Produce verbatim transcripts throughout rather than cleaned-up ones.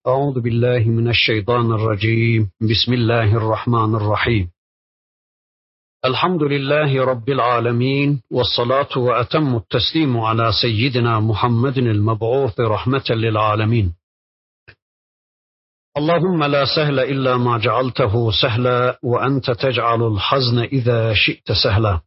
أعوذ بالله من الشيطان الرجيم بسم الله الرحمن الرحيم الحمد لله رب العالمين والصلاة وأتم التسليم على سيدنا محمد المبعوث رحمة للعالمين اللهم لا سهل إلا ما جعلته سهلا وأنت تجعل الحزن إذا شئت سهلا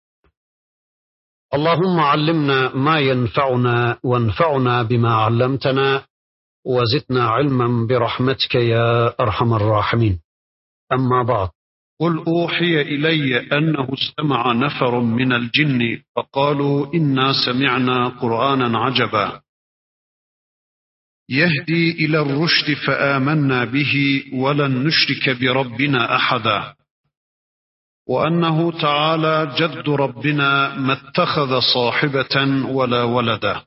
اللهم علمنا ما ينفعنا وانفعنا بما علمتنا وزدنا علما برحمتك يا أرحم الراحمين أما بعد قل أوحي إلي أنه استمع نفر من الجن فقالوا إنا سمعنا قرآنا عجبا يهدي إلى الرشد فآمنا به ولن نشرك بربنا أحدا وأنه تعالى جد ربنا ما اتخذ صاحبة ولا ولدا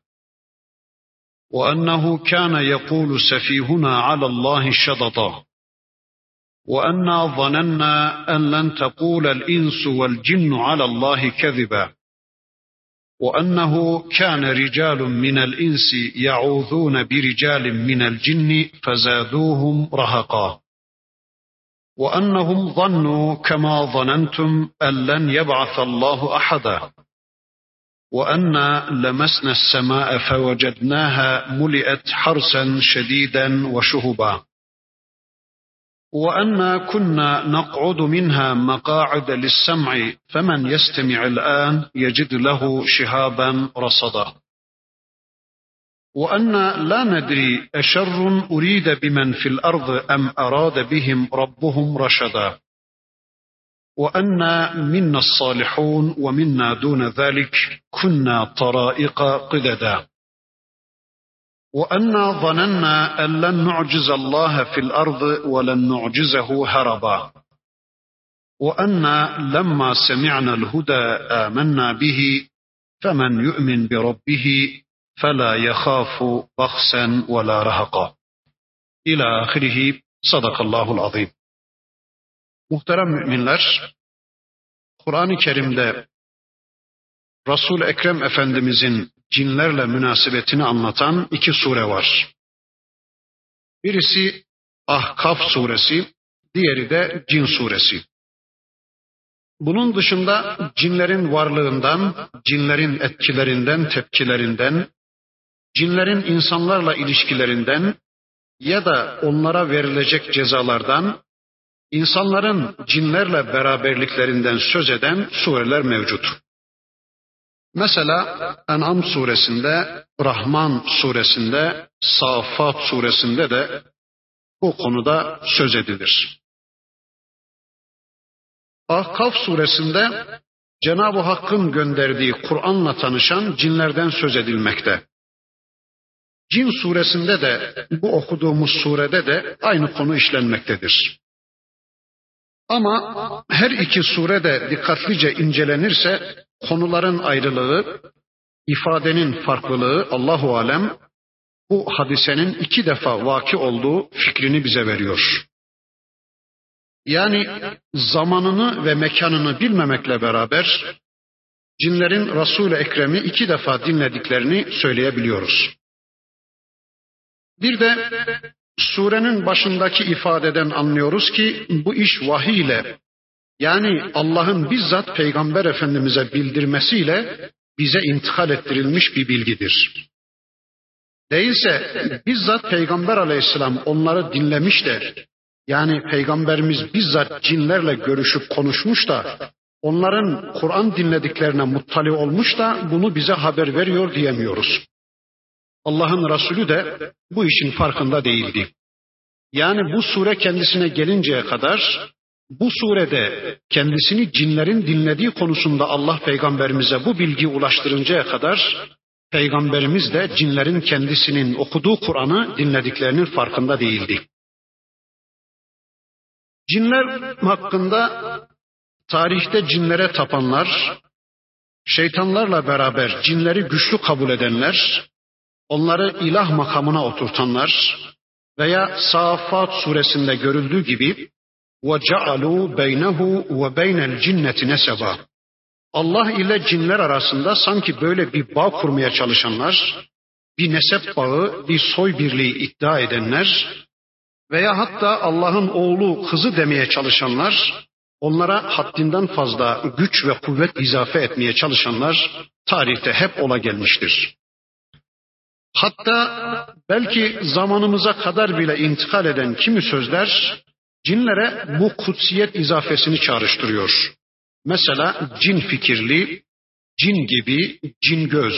وأنه كان يقول سفيهنا على الله شططا وأنا ظننا أن لن تقول الإنس والجن على الله كذبا وأنه كان رجال من الإنس يعوذون برجال من الجن فزادوهم رهقا وأنهم ظنوا كما ظننتم أن لن يبعث الله أحدا وأنا لمسنا السماء فوجدناها ملئت حرسا شديدا وشهبا وأنا كنا نقعد منها مقاعد للسمع فمن يستمع الآن يجد له شهابا رصدا وأنا لا ندري أشر أريد بمن في الأرض أم أراد بهم ربهم رشدا وأنا منا الصالحون ومنا دون ذلك كنا طرائق قددا وأنا ظننا أن لن نعجز الله في الأرض ولن نعجزه هربا وأنا لما سمعنا الهدى آمنا به فمن يؤمن بربه فلا يخاف بخسا ولا رهقا إلى آخره صدق الله العظيم. Muhterem müminler, Kur'an-ı Kerim'de Resul-i Ekrem Efendimizin cinlerle münasebetini anlatan iki sure var. Birisi Ahkaf suresi, diğeri de Cin suresi. Bunun dışında cinlerin varlığından, cinlerin etkilerinden, tepkilerinden, cinlerin insanlarla ilişkilerinden ya da onlara verilecek cezalardan, İnsanların cinlerle beraberliklerinden söz eden sureler mevcut. Mesela En'am suresinde, Rahman suresinde, Saffat suresinde de bu konuda söz edilir. Ahkaf suresinde Cenab-ı Hakk'ın gönderdiği Kur'an'la tanışan cinlerden söz edilmekte. Cin suresinde de bu okuduğumuz surede de aynı konu işlenmektedir. Ama her iki surede dikkatlice incelenirse konuların ayrılığı, ifadenin farklılığı Allahu alem bu hadisenin iki defa vaki olduğu fikrini bize veriyor. Yani zamanını ve mekanını bilmemekle beraber cinlerin Resul-i Ekrem'i iki defa dinlediklerini söyleyebiliyoruz. Bir de surenin başındaki ifadeden anlıyoruz ki bu iş vahiy ile, yani Allah'ın bizzat Peygamber Efendimiz'e bildirmesiyle bize intikal ettirilmiş bir bilgidir. Değilse bizzat Peygamber Aleyhisselam onları dinlemiş de, yani Peygamberimiz bizzat cinlerle görüşüp konuşmuş da onların Kur'an dinlediklerine muttali olmuş da bunu bize haber veriyor diyemiyoruz. Allah'ın Resulü de bu işin farkında değildi. Yani bu sure kendisine gelinceye kadar, bu surede kendisini cinlerin dinlediği konusunda Allah Peygamberimize bu bilgiyi ulaştırıncaya kadar, Peygamberimiz de cinlerin kendisinin okuduğu Kur'an'ı dinlediklerinin farkında değildi. Cinler hakkında tarihte cinlere tapanlar, şeytanlarla beraber cinleri güçlü kabul edenler, onları ilah makamına oturtanlar veya Saffat suresinde görüldüğü gibi وَجَعَلُوا بَيْنَهُ وَبَيْنَ الْجِنَّةِ نَسَبًا Allah ile cinler arasında sanki böyle bir bağ kurmaya çalışanlar, bir nesep bağı, bir soy birliği iddia edenler, veya hatta Allah'ın oğlu kızı demeye çalışanlar, onlara haddinden fazla güç ve kuvvet izafe etmeye çalışanlar tarihte hep ola gelmiştir. Hatta belki zamanımıza kadar bile intikal eden kimi sözler cinlere bu kutsiyet izafesini çağrıştırıyor. Mesela cin fikirli, cin gibi, cin göz.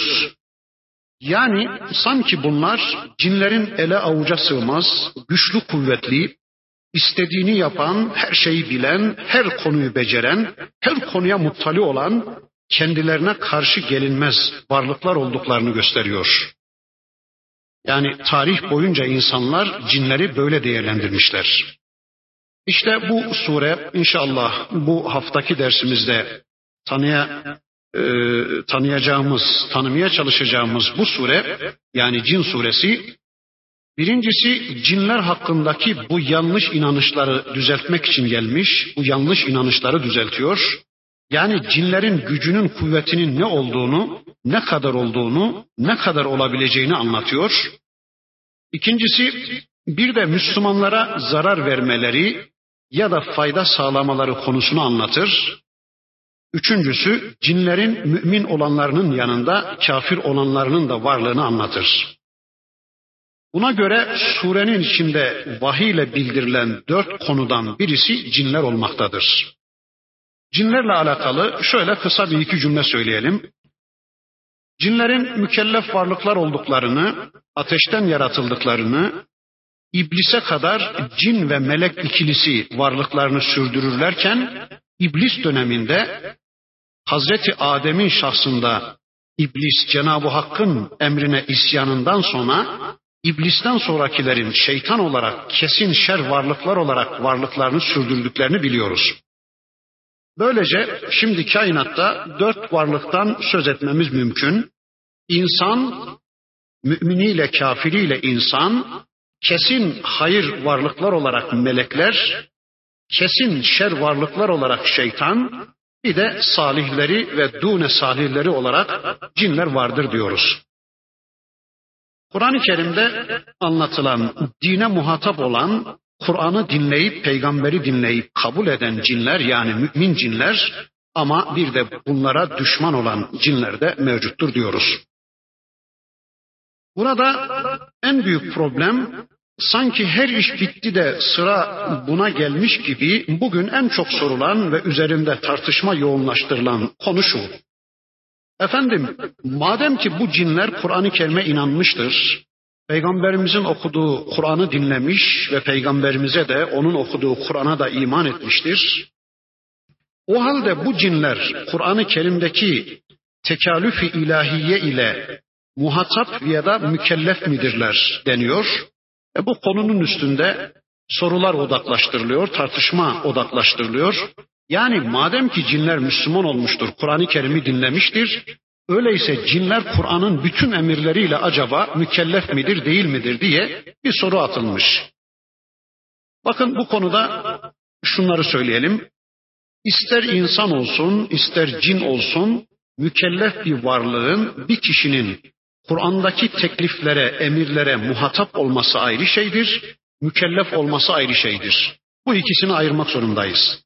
Yani sanki bunlar cinlerin ele avuca sığmaz, güçlü kuvvetli, istediğini yapan, her şeyi bilen, her konuyu beceren, her konuya muttali olan, kendilerine karşı gelinmez varlıklar olduklarını gösteriyor. Yani tarih boyunca insanlar cinleri böyle değerlendirmişler. İşte bu sure inşallah bu haftaki dersimizde tanıya, e, tanıyacağımız, tanımaya çalışacağımız bu sure, yani Cin suresi, birincisi cinler hakkındaki bu yanlış inanışları düzeltmek için gelmiş, bu yanlış inanışları düzeltiyor. Yani cinlerin gücünün, kuvvetinin ne olduğunu, ne kadar olduğunu, ne kadar olabileceğini anlatıyor. İkincisi, bir de Müslümanlara zarar vermeleri ya da fayda sağlamaları konusunu anlatır. Üçüncüsü, cinlerin mümin olanlarının yanında kafir olanlarının da varlığını anlatır. Buna göre surenin içinde vahiy ile bildirilen dört konudan birisi cinler olmaktadır. Cinlerle alakalı şöyle kısa bir iki cümle söyleyelim. Cinlerin mükellef varlıklar olduklarını, ateşten yaratıldıklarını, İblise kadar cin ve melek ikilisi varlıklarını sürdürürlerken, İblis döneminde Hazreti Adem'in şahsında İblis Cenab-ı Hakk'ın emrine isyanından sonra, İblisten sonrakilerin şeytan olarak kesin şer varlıklar olarak varlıklarını sürdürdüklerini biliyoruz. Böylece şimdi kainatta dört varlıktan söz etmemiz mümkün. İnsan, müminiyle kafiriyle insan, kesin hayır varlıklar olarak melekler, kesin şer varlıklar olarak şeytan, bir de salihleri ve dune salihleri olarak cinler vardır diyoruz. Kur'an-ı Kerim'de anlatılan, dine muhatap olan, Kur'an'ı dinleyip, peygamberi dinleyip kabul eden cinler, yani mümin cinler, ama bir de bunlara düşman olan cinler de mevcuttur diyoruz. Burada en büyük problem, sanki her iş bitti de sıra buna gelmiş gibi bugün en çok sorulan ve üzerinde tartışma yoğunlaştırılan konu şu. Efendim, madem ki bu cinler Kur'an-ı Kerim'e inanmıştır, Peygamberimizin okuduğu Kur'an'ı dinlemiş ve Peygamberimize de onun okuduğu Kur'an'a da iman etmiştir. O halde bu cinler Kur'an-ı Kerim'deki tekallüf-i ilahiye ile muhatap ya da mükellef midirler deniyor. E bu konunun üstünde sorular odaklaştırılıyor, tartışma odaklaştırılıyor. Yani madem ki cinler Müslüman olmuştur, Kur'an-ı Kerim'i dinlemiştir, öyleyse cinler Kur'an'ın bütün emirleriyle acaba mükellef midir, değil midir diye bir soru atılmış. Bakın bu konuda şunları söyleyelim. İster insan olsun, ister cin olsun, mükellef bir varlığın, bir kişinin Kur'an'daki tekliflere, emirlere muhatap olması ayrı şeydir, mükellef olması ayrı şeydir. Bu ikisini ayırmak zorundayız.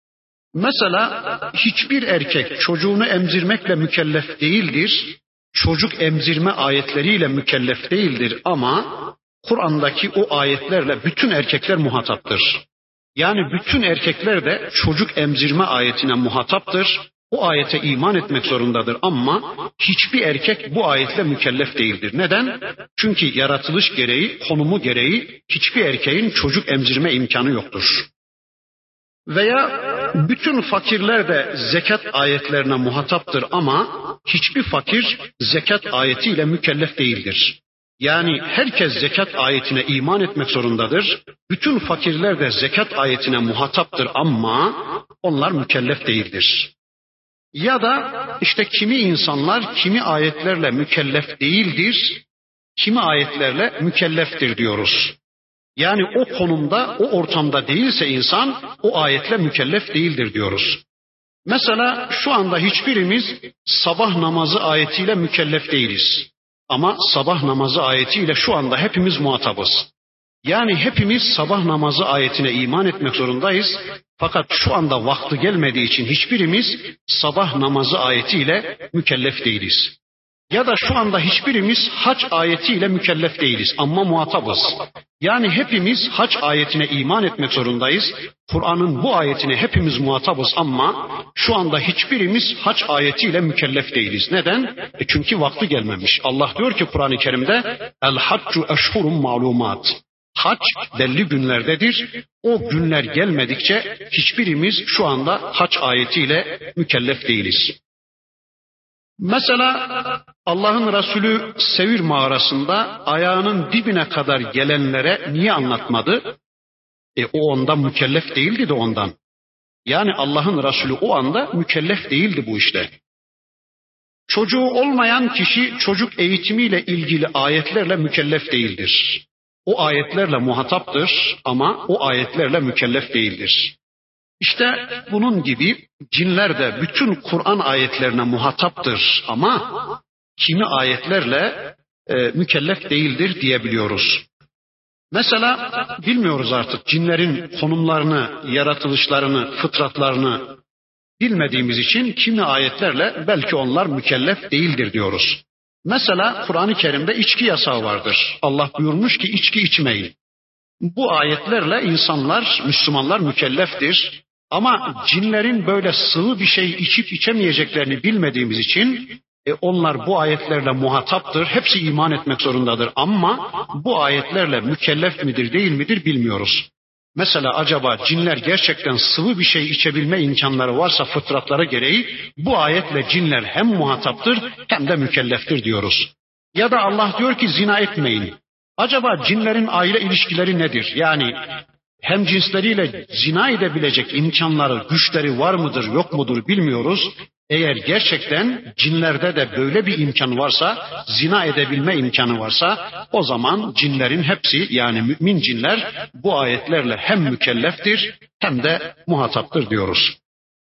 Mesela hiçbir erkek çocuğunu emzirmekle mükellef değildir, çocuk emzirme ayetleriyle mükellef değildir ama Kur'an'daki o ayetlerle bütün erkekler muhataptır. Yani bütün erkekler de çocuk emzirme ayetine muhataptır. O ayete iman etmek zorundadır ama hiçbir erkek bu ayetle mükellef değildir. Neden? Çünkü yaratılış gereği, konumu gereği hiçbir erkeğin çocuk emzirme imkanı yoktur. Veya bütün fakirler de zekat ayetlerine muhataptır ama hiçbir fakir zekat ayetiyle mükellef değildir. Yani herkes zekat ayetine iman etmek zorundadır. Bütün fakirler de zekat ayetine muhataptır ama onlar mükellef değildir. Ya da işte kimi insanlar kimi ayetlerle mükellef değildir, kimi ayetlerle mükelleftir diyoruz. Yani o konumda, o ortamda değilse insan o ayetle mükellef değildir diyoruz. Mesela şu anda hiçbirimiz sabah namazı ayetiyle mükellef değiliz. Ama sabah namazı ayetiyle şu anda hepimiz muhatabız. Yani hepimiz sabah namazı ayetine iman etmek zorundayız. Fakat şu anda vakti gelmediği için hiçbirimiz sabah namazı ayetiyle mükellef değiliz. Ya da şu anda hiçbirimiz hac ayetiyle mükellef değiliz ama muhatabız. Yani hepimiz hac ayetine iman etmek zorundayız. Kur'an'ın bu ayetine hepimiz muhatabız ama şu anda hiçbirimiz hac ayetiyle mükellef değiliz. Neden? E çünkü vakti gelmemiş. Allah diyor ki Kur'an-ı Kerim'de El haccu eşhurun malumat. Hac belli günlerdedir. O günler gelmedikçe hiçbirimiz şu anda hac ayetiyle mükellef değiliz. Mesela Allah'ın Resulü Sevir mağarasında ayağının dibine kadar gelenlere niye anlatmadı? E o ondan mükellef değildi de ondan. Yani Allah'ın Resulü o anda mükellef değildi bu işte. Çocuğu olmayan kişi çocuk eğitimiyle ilgili ayetlerle mükellef değildir. O ayetlerle muhataptır ama o ayetlerle mükellef değildir. İşte bunun gibi cinler de bütün Kur'an ayetlerine muhataptır ama kimi ayetlerle e, mükellef değildir diyebiliyoruz. Mesela bilmiyoruz artık cinlerin konumlarını, yaratılışlarını, fıtratlarını bilmediğimiz için kimi ayetlerle belki onlar mükellef değildir diyoruz. Mesela Kur'an-ı Kerim'de içki yasağı vardır. Allah buyurmuş ki içki içmeyin. Bu ayetlerle insanlar, Müslümanlar mükelleftir. Ama cinlerin böyle sıvı bir şey içip içemeyeceklerini bilmediğimiz için e, onlar bu ayetlerle muhataptır. Hepsi iman etmek zorundadır. Ama bu ayetlerle mükellef midir değil midir bilmiyoruz. Mesela acaba cinler gerçekten sıvı bir şey içebilme imkanları varsa fıtratları gereği bu ayetle cinler hem muhataptır hem de mükelleftir diyoruz. Ya da Allah diyor ki zina etmeyin. Acaba cinlerin aile ilişkileri nedir? Yani hem cinsleriyle zina edebilecek imkanları, güçleri var mıdır, yok mudur bilmiyoruz. Eğer gerçekten cinlerde de böyle bir imkan varsa, zina edebilme imkanı varsa, o zaman cinlerin hepsi yani mümin cinler bu ayetlerle hem mükelleftir hem de muhataptır diyoruz.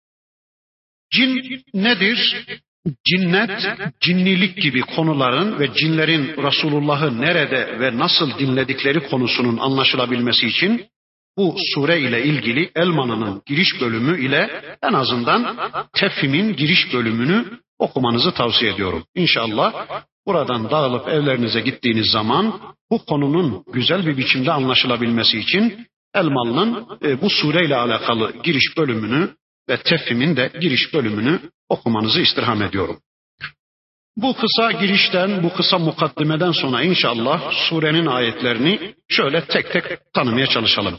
Cin nedir? Cinnet, cinnilik gibi konuların ve cinlerin Resulullah'ı nerede ve nasıl dinledikleri konusunun anlaşılabilmesi için bu sure ile ilgili Elmalı'nın giriş bölümü ile en azından Tefhim'in giriş bölümünü okumanızı tavsiye ediyorum. İnşallah buradan dağılıp evlerinize gittiğiniz zaman bu konunun güzel bir biçimde anlaşılabilmesi için Elmalı'nın bu sure ile alakalı giriş bölümünü ve Tefhim'in de giriş bölümünü okumanızı istirham ediyorum. Bu kısa girişten, bu kısa mukaddimeden sonra inşallah surenin ayetlerini şöyle tek tek tanımaya çalışalım.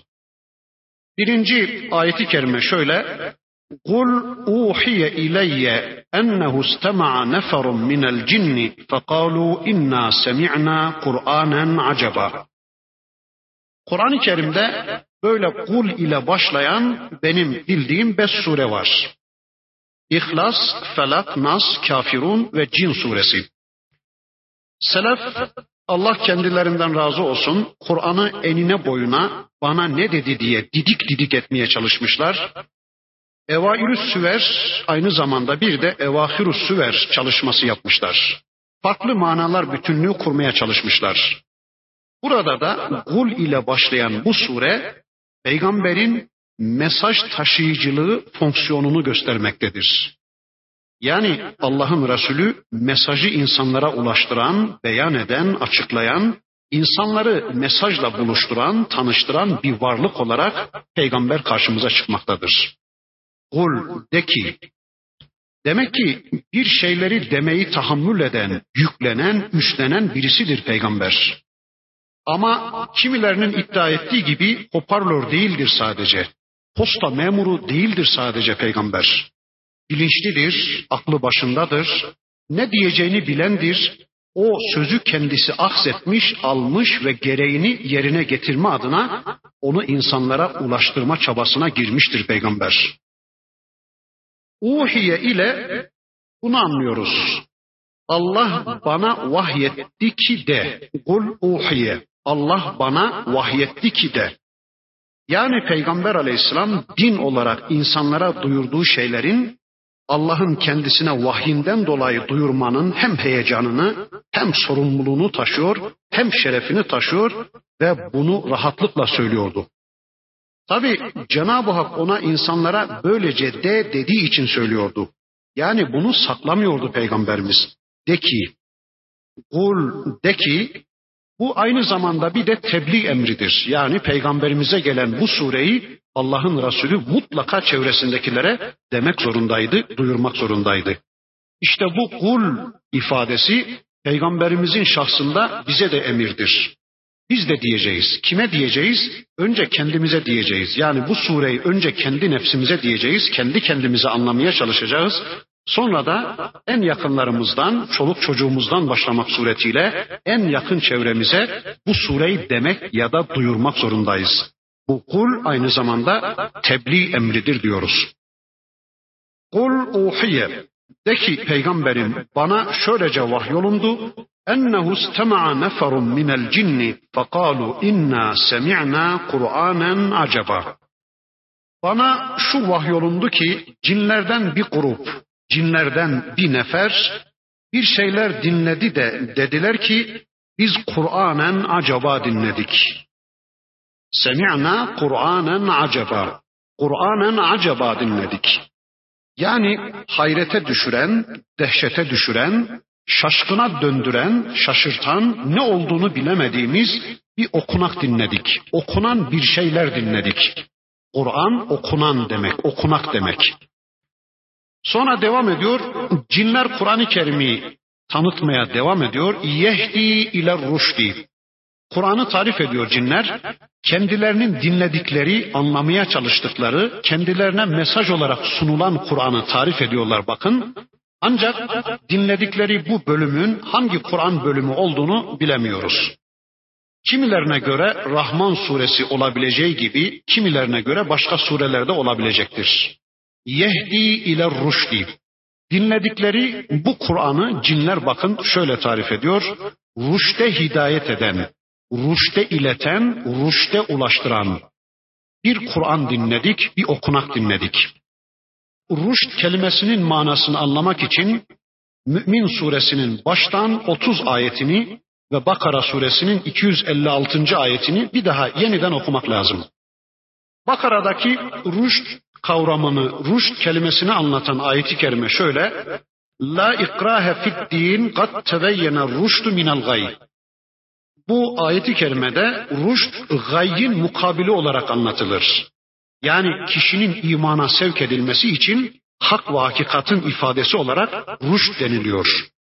Birinci ayeti kerime şöyle: "Kul uhiye ileyye ennehu istema'a neferun minel cinni fekalu inna semi'na Kur'anen acaba." Kur'an-ı Kerim'de böyle kul ile başlayan benim bildiğim beş sure var. İhlas, Felak, Nas, Kafirun ve Cin suresi. Selef, Allah kendilerinden razı olsun, Kur'an'ı enine boyuna bana ne dedi diye didik didik etmeye çalışmışlar. Evailüs Süver aynı zamanda bir de Evahirus Süver çalışması yapmışlar. Farklı manalar bütünlüğü kurmaya çalışmışlar. Burada da kul ile başlayan bu sure peygamberin mesaj taşıyıcılığı fonksiyonunu göstermektedir. Yani Allah'ın Resulü mesajı insanlara ulaştıran, beyan eden, açıklayan, insanları mesajla buluşturan, tanıştıran bir varlık olarak peygamber karşımıza çıkmaktadır. Kul de ki, demek ki bir şeyleri demeyi tahammül eden, yüklenen, üstlenen birisidir peygamber. Ama kimilerinin iddia ettiği gibi hoparlör değildir sadece. Posta memuru değildir sadece peygamber. Bilinçlidir, aklı başındadır, ne diyeceğini bilendir. O sözü kendisi aksetmiş, almış ve gereğini yerine getirme adına onu insanlara ulaştırma çabasına girmiştir peygamber. Uhiye ile bunu anlıyoruz. Allah bana vahyetti ki de, kul uhiye, Allah bana vahyetti ki de. Yani Peygamber Aleyhisselam din olarak insanlara duyurduğu şeylerin Allah'ın kendisine vahyinden dolayı duyurmanın hem heyecanını hem sorumluluğunu taşıyor, hem şerefini taşıyor ve bunu rahatlıkla söylüyordu. Tabi Cenab-ı Hak ona insanlara böylece de dediği için söylüyordu. Yani bunu saklamıyordu Peygamberimiz. De ki, kul de ki, bu aynı zamanda bir de tebliğ emridir. Yani Peygamberimize gelen bu sureyi Allah'ın Resulü mutlaka çevresindekilere demek zorundaydı, duyurmak zorundaydı. İşte bu kul ifadesi Peygamberimizin şahsında bize de emirdir. Biz de diyeceğiz. Kime diyeceğiz? Önce kendimize diyeceğiz. Yani bu sureyi önce kendi nefsimize diyeceğiz. Kendi kendimize anlamaya çalışacağız. Sonra da en yakınlarımızdan, çoluk çocuğumuzdan başlamak suretiyle en yakın çevremize bu sureyi demek ya da duyurmak zorundayız. Bu kul aynı zamanda tebliğ emridir diyoruz. Kul uhiye, de ki peygamberim bana şöylece vahyolundu. Ennehu istema'a neferun minel cinni fekalu inna semi'na Kur'anen acaba. Bana şu vahyolundu ki cinlerden bir grup, cinlerden bir nefer bir şeyler dinledi de dediler ki biz Kur'anen acaba dinledik. Semi'na Kur'anen acaba. Kur'anen acaba dinledik. Yani hayrete düşüren, dehşete düşüren, şaşkına döndüren, şaşırtan, ne olduğunu bilemediğimiz bir okunak dinledik. Okunan bir şeyler dinledik. Kur'an okunan demek, okunak demek. Sonra devam ediyor, cinler Kur'an-ı Kerim'i tanıtmaya devam ediyor. Yehdi ile ruşdi. Kur'an'ı tarif ediyor cinler. Kendilerinin dinledikleri, anlamaya çalıştıkları, kendilerine mesaj olarak sunulan Kur'an'ı tarif ediyorlar bakın. Ancak dinledikleri bu bölümün hangi Kur'an bölümü olduğunu bilemiyoruz. Kimilerine göre Rahman suresi olabileceği gibi, kimilerine göre başka surelerde olabilecektir. Yehdi ile ruşdi. Dinledikleri bu Kur'an'ı cinler bakın şöyle tarif ediyor. Ruşte hidayet eden, ruşte ileten, ruşte ulaştıran bir Kur'an dinledik, bir okunak dinledik. Ruşt kelimesinin manasını anlamak için Mü'min suresinin baştan otuz ayetini ve Bakara suresinin iki yüz elli altıncı ayetini bir daha yeniden okumak lazım. Bakara'daki ruşt kavramını, ruşt kelimesini anlatan ayeti kerime şöyle: La ikrahe fid din kad tebeyyene ruştu minel gay. Bu ayeti kerimede ruşt gayyin mukabili olarak anlatılır. Yani kişinin imana sevk edilmesi için hak ve hakikatin ifadesi olarak rüşt deniliyor.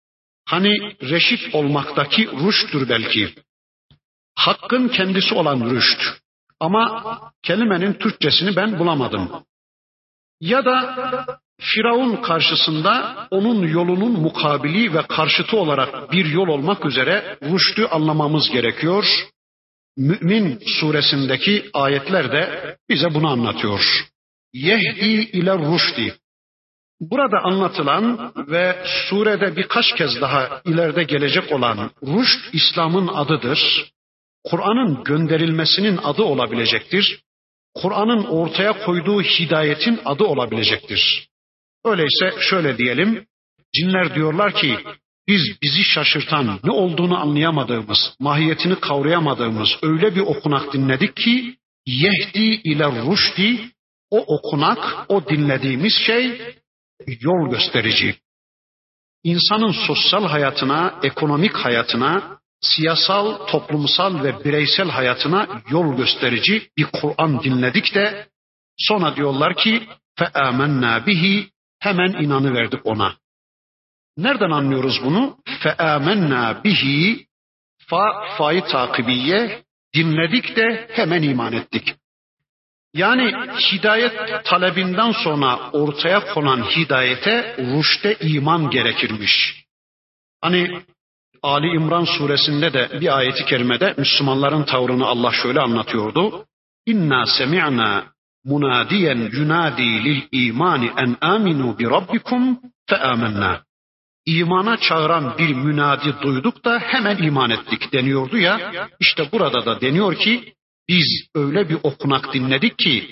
Hani reşit olmaktaki rüşttür belki. Hakkın kendisi olan rüşt. Ama kelimenin Türkçesini ben bulamadım. Ya da Firavun karşısında onun yolunun mukabili ve karşıtı olarak bir yol olmak üzere rüştü anlamamız gerekiyor. Mü'min suresindeki ayetler de bize bunu anlatıyor. Yehdi ile rüşdi. Burada anlatılan ve surede birkaç kez daha ileride gelecek olan rüşt İslam'ın adıdır. Kur'an'ın gönderilmesinin adı olabilecektir. Kur'an'ın ortaya koyduğu hidayetin adı olabilecektir. Öyleyse şöyle diyelim, cinler diyorlar ki biz bizi şaşırtan, ne olduğunu anlayamadığımız, mahiyetini kavrayamadığımız öyle bir okunak dinledik ki yehdi ile rüşdi, o okunak, o dinlediğimiz şey yol gösterici. İnsanın sosyal hayatına, ekonomik hayatına, siyasal, toplumsal ve bireysel hayatına yol gösterici bir Kur'an dinledik de sonra diyorlar ki feâmennâ bihi, hemen inanıverdik ona. Nereden anlıyoruz bunu? Feâmennâ bihi, fa, fa'yı takibiye, dinledik de hemen iman ettik. Yani hidayet talebinden sonra ortaya konan hidayete rüşte iman gerekirmiş. Hani Ali İmran suresinde de bir ayeti kerimede Müslümanların tavrını Allah şöyle anlatıyordu. İnna semi'na munadiyen yunadi lil imani en aminu bi rabbikum fe amennâ. İmana çağıran bir münadi duyduk da hemen iman ettik deniyordu ya. İşte burada da deniyor ki biz öyle bir okunak dinledik ki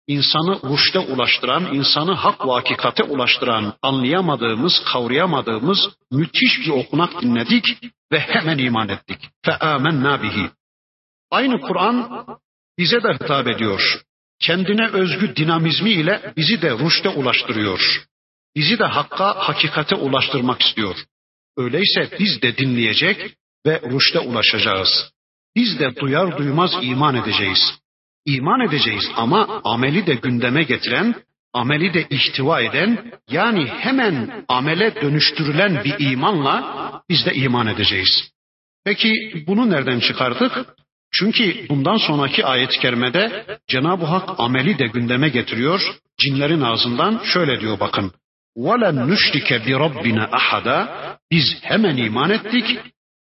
insanı rüşte ulaştıran, insanı hak ve hakikate ulaştıran, anlayamadığımız, kavrayamadığımız müthiş bir okunak dinledik ve hemen iman ettik. فَآمَنَّا بِهِ. Aynı Kur'an bize de hitap ediyor. Kendine özgü dinamizmi ile bizi de rüşte ulaştırıyor. Bizi de hakka, hakikate ulaştırmak istiyor. Öyleyse biz de dinleyecek ve rüşte ulaşacağız. Biz de duyar duymaz iman edeceğiz. İman edeceğiz ama ameli de gündeme getiren, ameli de ihtiva eden, yani hemen amele dönüştürülen bir imanla biz de iman edeceğiz. Peki bunu nereden çıkardık? Çünkü bundan sonraki ayet-i kerimede Cenab-ı Hak ameli de gündeme getiriyor. Cinlerin ağzından şöyle diyor bakın. وَلَنْ نُشْرِكَ بِرَبِّنَا أَحَدًا. Biz hemen iman ettik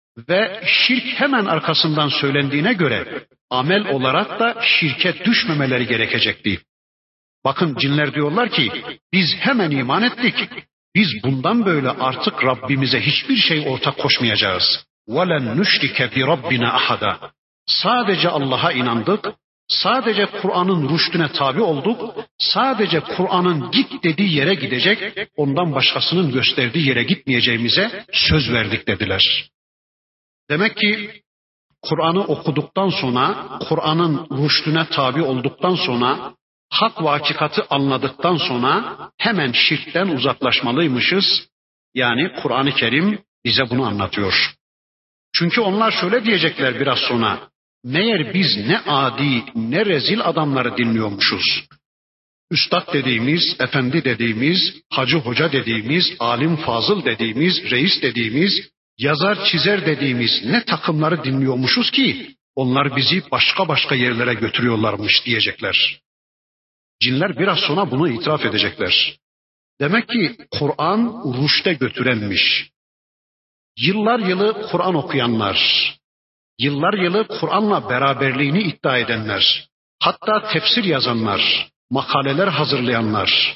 ve şirk hemen arkasından söylendiğine göre amel olarak da şirke düşmemeleri gerekecekti. Bakın cinler diyorlar ki biz hemen iman ettik. Biz bundan böyle artık Rabbimize hiçbir şey ortak koşmayacağız. وَلَنْ نُشْرِكَ بِرَبِّنَا أَحَدًا. Sadece Allah'a inandık. Sadece Kur'an'ın rüştüne tabi olduk. Sadece Kur'an'ın git dediği yere gidecek, ondan başkasının gösterdiği yere gitmeyeceğimize söz verdik dediler. Demek ki Kur'an'ı okuduktan sonra, Kur'an'ın rüştüne tabi olduktan sonra, hak ve hakikati anladıktan sonra hemen şirkten uzaklaşmalıymışız. Yani Kur'an-ı Kerim bize bunu anlatıyor. Çünkü onlar şöyle diyecekler biraz sonra. Meğer biz ne adi, ne rezil adamları dinliyormuşuz. Üstad dediğimiz, efendi dediğimiz, hacı hoca dediğimiz, alim fazıl dediğimiz, reis dediğimiz, yazar çizer dediğimiz ne takımları dinliyormuşuz ki onlar bizi başka başka yerlere götürüyorlarmış diyecekler. Cinler biraz sonra bunu itiraf edecekler. Demek ki Kur'an rüşte götürenmiş. Yıllar yılı Kur'an okuyanlar, yıllar yılı Kur'an'la beraberliğini iddia edenler, hatta tefsir yazanlar, makaleler hazırlayanlar,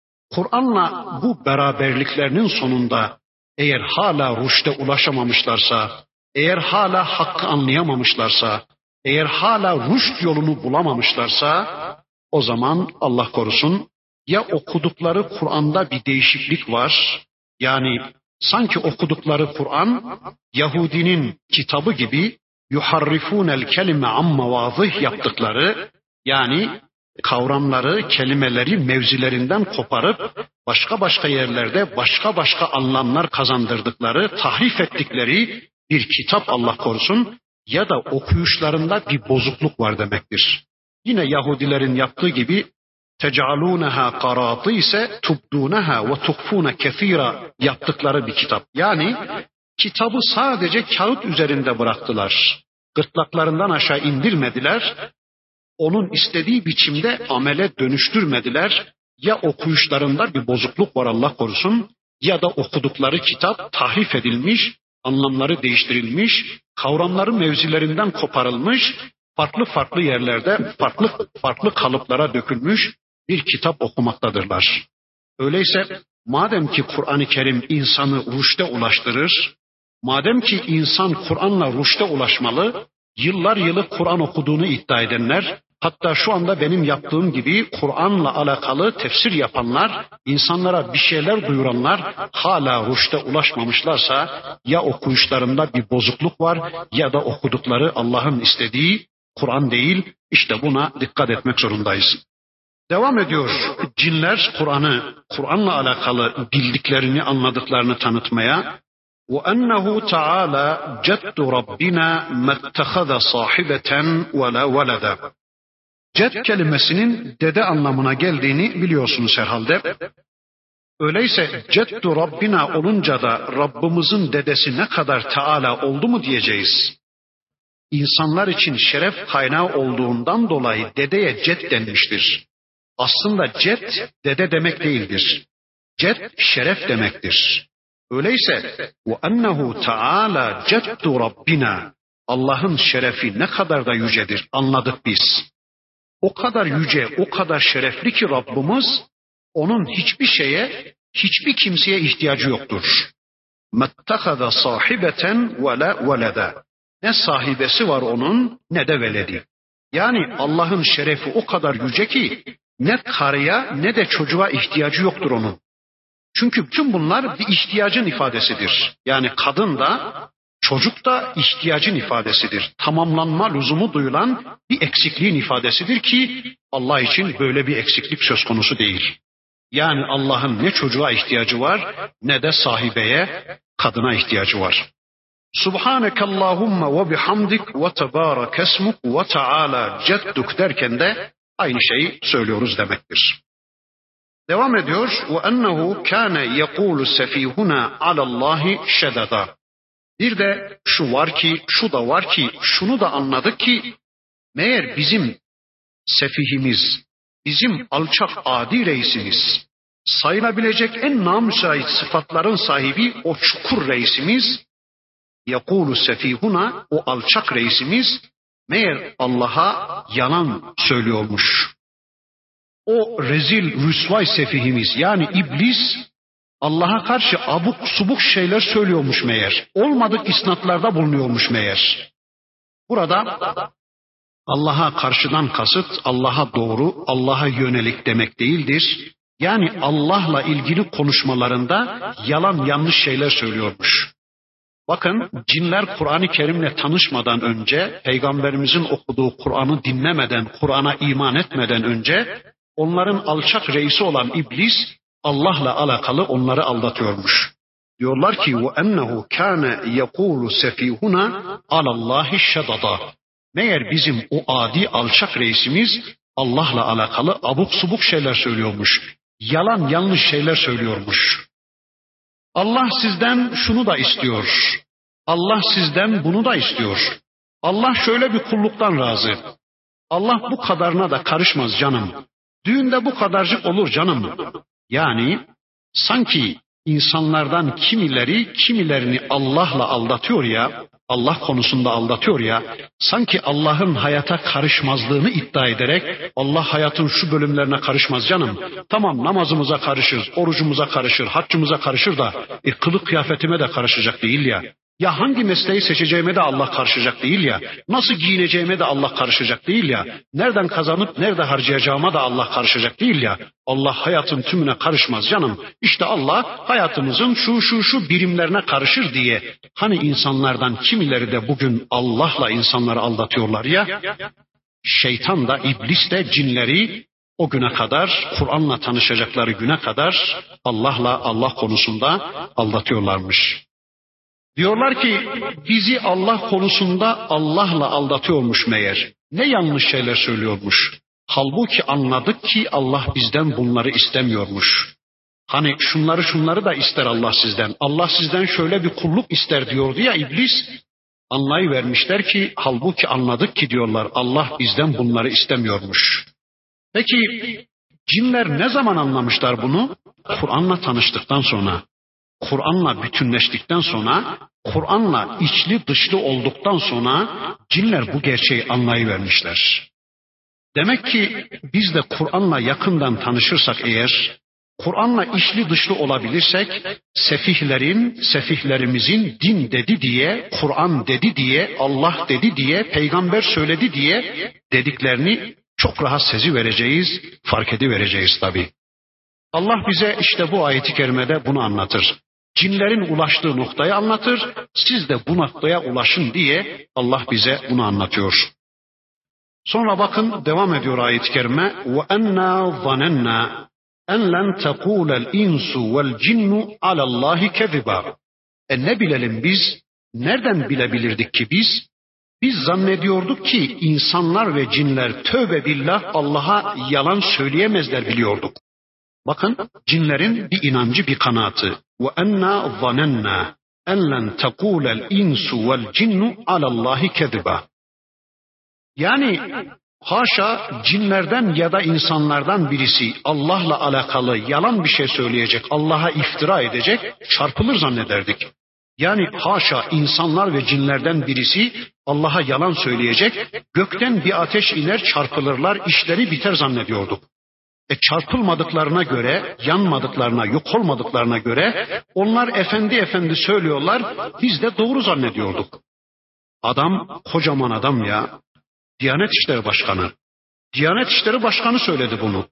Kur'an'la bu beraberliklerinin sonunda eğer hala rüşte ulaşamamışlarsa, eğer hala hakkı anlayamamışlarsa, eğer hala rüşt yolunu bulamamışlarsa, o zaman Allah korusun ya okudukları Kur'an'da bir değişiklik var, yani sanki okudukları Kur'an Yahudinin kitabı gibi yuharrifunel kelime amma vazih yaptıkları, yani kavramları, kelimeleri mevzilerinden koparıp başka başka yerlerde başka başka anlamlar kazandırdıkları, tahrif ettikleri bir kitap Allah korusun, ya da okuyuşlarında bir bozukluk var demektir. Yine Yahudilerin yaptığı gibi tec'alûneha qarâtî ise tubdûneha ve tuhfûne kefîra yaptıkları bir kitap. Yani kitabı sadece kağıt üzerinde bıraktılar. Gırtlaklarından aşağı indirmediler. Onun istediği biçimde amele dönüştürmediler. Ya okuyuşlarında bir bozukluk var Allah korusun, ya da okudukları kitap tahrif edilmiş, anlamları değiştirilmiş, kavramları mevzilerinden koparılmış, farklı farklı yerlerde farklı farklı kalıplara dökülmüş bir kitap okumaktadırlar. Öyleyse madem ki Kur'an-ı Kerim insanı rüşte ulaştırır, madem ki insan Kur'an'la rüşte ulaşmalı, yıllar yılı Kur'an okuduğunu iddia edenler, hatta şu anda benim yaptığım gibi Kur'an'la alakalı tefsir yapanlar, insanlara bir şeyler duyuranlar hala rüşte ulaşmamışlarsa ya okuyuşlarında bir bozukluk var ya da okudukları Allah'ın istediği Kur'an değil. İşte buna dikkat etmek zorundayız. Devam ediyor cinler Kur'an'ı, Kur'an'la alakalı bildiklerini, anladıklarını tanıtmaya. وَأَنَّهُ تَعَالَى جَدُّ رَبِّنَا مَتَّخَذَ صَاحِبَةً وَلَا وَلَدًا. Ced kelimesinin dede anlamına geldiğini biliyorsunuz herhalde. Öyleyse Ceddu Rabbina olunca da Rabbimizin dedesi ne kadar Teala oldu mu diyeceğiz. İnsanlar için şeref kaynağı olduğundan dolayı dedeye ced denmiştir. Aslında ced dede demek değildir. Ced şeref demektir. Öyleyse وَاَنَّهُ تَعَالَى جَدُّ رَبِّنَا Allah'ın şerefi ne kadar da yücedir anladık biz. O kadar yüce, o kadar şerefli ki Rabbimiz, onun hiçbir şeye, hiçbir kimseye ihtiyacı yoktur. مَتَّخَذَ صَاحِبَةً وَلَا وَلَدًا. Ne sahibesi var onun ne de veledi. Yani Allah'ın şerefi o kadar yüce ki Ne karıya ne de çocuğa ihtiyacı yoktur onun. Çünkü bütün bunlar bir ihtiyacın ifadesidir. Yani kadın da çocuk da ihtiyacın ifadesidir. Tamamlanma lüzumu duyulan bir eksikliğin ifadesidir ki Allah için böyle bir eksiklik söz konusu değil. Yani Allah'ın ne çocuğa ihtiyacı var ne de sahibeye, kadına ihtiyacı var. Subhanekallahumma ve bihamdik ve tebarek esmuk ve teala cedduk derken de aynı şeyi söylüyoruz demektir. Devam ediyor. Ve ennehu kâne yekûlu sefîhuna alallâhi şededa. Bir de şu var ki, şu da var ki, şunu da anladık ki meğer bizim sefihimiz, bizim alçak adi reisimiz, sayılabilecek en namüsait sıfatların sahibi o çukur reisimiz, yekûlu sefihuna, o alçak reisimiz meğer Allah'a yalan söylüyormuş. O rezil rüsvay sefihimiz yani iblis Allah'a karşı abuk subuk şeyler söylüyormuş meğer. Olmadık isnatlarda bulunuyormuş meğer. Burada Allah'a karşıdan kasıt Allah'a doğru, Allah'a yönelik demek değildir. Yani Allah'la ilgili konuşmalarında yalan yanlış şeyler söylüyormuş. Bakın cinler Kur'an-ı Kerim'le tanışmadan önce, Peygamberimizin okuduğu Kur'an'ı dinlemeden, Kur'an'a iman etmeden önce onların alçak reisi olan iblis Allah'la alakalı onları aldatıyormuş. Diyorlar ki ve ennehu kana yekulu sefihuna alallahi şedada. Meğer bizim o adi alçak reisimiz Allah'la alakalı abuk subuk şeyler söylüyormuş. Yalan yanlış şeyler söylüyormuş. Allah sizden şunu da istiyor. Allah sizden bunu da istiyor. Allah şöyle bir kulluktan razı. Allah bu kadarına da karışmaz canım. Düğünde bu kadarcık olur canım. Yani sanki insanlardan kimileri kimilerini Allah'la aldatıyor ya, Allah konusunda aldatıyor ya, sanki Allah'ın hayata karışmazlığını iddia ederek Allah hayatın şu bölümlerine karışmaz canım. Tamam namazımıza karışır, orucumuza karışır, haccımıza karışır da e, kılık kıyafetime de karışacak değil ya. Ya hangi mesleği seçeceğime de Allah karışacak değil ya. Nasıl giyineceğime de Allah karışacak değil ya. Nereden kazanıp nerede harcayacağıma da Allah karışacak değil ya. Allah hayatın tümüne karışmaz canım. İşte Allah hayatımızın şu şu şu birimlerine karışır diye. Hani insanlardan kimileri de bugün Allah'la insanları aldatıyorlar ya. Şeytan da iblis de cinleri o güne kadar Kur'an'la tanışacakları güne kadar Allah'la Allah konusunda aldatıyorlarmış. Diyorlar ki bizi Allah konusunda Allah'la aldatıyormuş meğer. Ne yanlış şeyler söylüyormuş. Halbuki anladık ki Allah bizden bunları istemiyormuş. Hani şunları şunları da ister Allah sizden. Allah sizden şöyle bir kulluk ister diyordu ya iblis. Anlayıvermişler ki halbuki anladık ki diyorlar Allah bizden bunları istemiyormuş. Peki cinler ne zaman anlamışlar bunu? Kur'an'la tanıştıktan sonra. Kur'an'la bütünleştikten sonra, Kur'an'la içli dışlı olduktan sonra cinler bu gerçeği anlayıvermişler. Demek ki biz de Kur'an'la yakından tanışırsak eğer, Kur'an'la içli dışlı olabilirsek, sefihlerin, sefihlerimizin din dedi diye, Kur'an dedi diye, Allah dedi diye, peygamber söyledi diye dediklerini çok rahat sezivereceğiz, fark edivereceğiz tabii. Allah bize işte bu ayet-i kerimede bunu anlatır. Cinlerin ulaştığı noktayı anlatır. Siz de bu noktaya ulaşın diye Allah bize bunu anlatıyor. Sonra bakın devam ediyor ayet-i kerime. Ve enna zanenna en len tekulel insu vel cinnu alallahi keziba. E ne bilelim biz? Nereden bilebilirdik ki biz? Biz zannediyorduk ki insanlar ve cinler tövbe billah Allah'a yalan söyleyemezler biliyorduk. Bakın cinlerin bir inancı bir kanaatı. Ve enna zanenna en len tekulel insu vel cinnu alallahi keziba. Yani haşa cinlerden ya da insanlardan birisi Allah'la alakalı yalan bir şey söyleyecek, Allah'a iftira edecek, çarpılır zannederdik. Yani haşa insanlar ve cinlerden birisi Allah'a yalan söyleyecek, gökten bir ateş iner çarpılırlar, işleri biter zannediyorduk. E çarpılmadıklarına göre, yanmadıklarına, yok olmadıklarına göre onlar efendi efendi söylüyorlar, biz de doğru zannediyorduk. Adam kocaman adam ya, Diyanet İşleri Başkanı. Diyanet İşleri Başkanı söyledi bunu.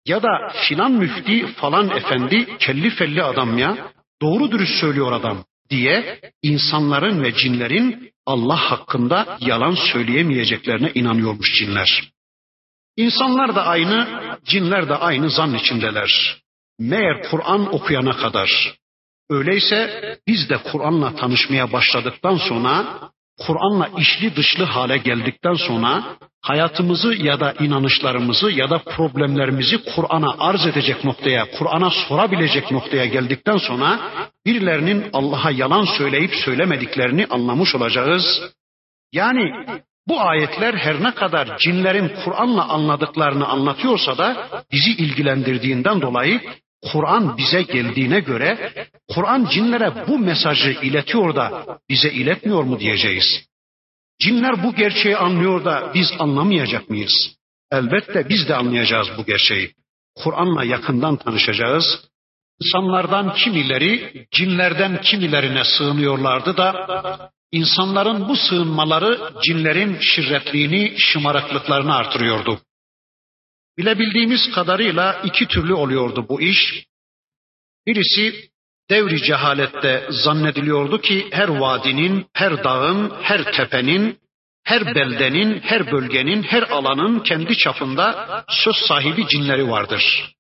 ya da filan müfti falan efendi kelli felli adam ya, doğru dürüst söylüyor adam diye insanların ve cinlerin Allah hakkında yalan söyleyemeyeceklerine inanıyormuş cinler. İnsanlar da aynı, cinler de aynı zan içindeler. Meğer Kur'an okuyana kadar. Öyleyse biz de Kur'an'la tanışmaya başladıktan sonra, Kur'an'la içli dışlı hale geldikten sonra hayatımızı ya da inanışlarımızı ya da problemlerimizi Kur'an'a arz edecek noktaya, Kur'an'a sorabilecek noktaya geldikten sonra birilerinin Allah'a yalan söyleyip söylemediklerini anlamış olacağız. Yani bu ayetler her ne kadar cinlerin Kur'an'la anladıklarını anlatıyorsa da bizi ilgilendirdiğinden dolayı Kur'an bize geldiğine göre Kur'an cinlere bu mesajı iletiyor da bize iletmiyor mu diyeceğiz. Cinler bu gerçeği anlıyor da biz anlamayacak mıyız? Elbette biz de anlayacağız bu gerçeği. Kur'an'la yakından tanışacağız. İnsanlardan kimileri cinlerden kimilerine sığınıyorlardı da insanların bu sığınmaları cinlerin şirretliğini, şımarıklıklarını artırıyordu. Bilebildiğimiz kadarıyla iki türlü oluyordu bu iş. Birisi devri cehalette zannediliyordu ki her vadinin, her dağın, her tepenin, her beldenin, her bölgenin, her alanın kendi çapında söz sahibi cinleri vardır.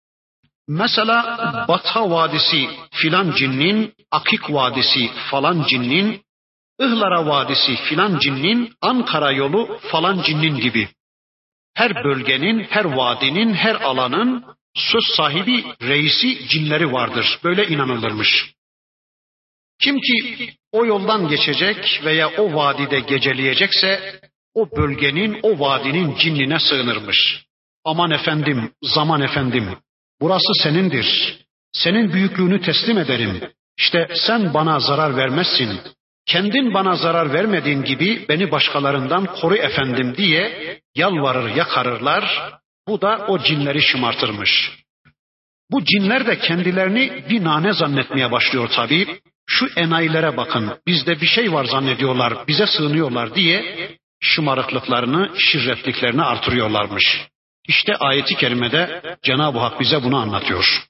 Mesela Batha Vadisi filan cinnin, Akik Vadisi falan cinnin, Ihlara Vadisi filan cinnin, Ankara yolu falan cinnin gibi. Her bölgenin, her vadinin, her alanın söz sahibi, reisi cinleri vardır. Böyle inanılırmış. Kim ki o yoldan geçecek veya o vadide geceleyecekse o bölgenin, o vadinin cinnine sığınırmış. Aman efendim, zaman efendim, burası senindir. Senin büyüklüğünü teslim ederim. İşte sen bana zarar vermezsin. Kendin bana zarar vermediğin gibi beni başkalarından koru efendim diye yalvarır yakarırlar. Bu da o cinleri şımartırmış. Bu cinler de kendilerini bir nane zannetmeye başlıyor tabii. Şu enayilere bakın, bizde bir şey var zannediyorlar, bize sığınıyorlar diye şımarıklıklarını, şirretliklerini artırıyorlarmış. İşte ayeti kerimede Cenab-ı Hak bize bunu anlatıyor.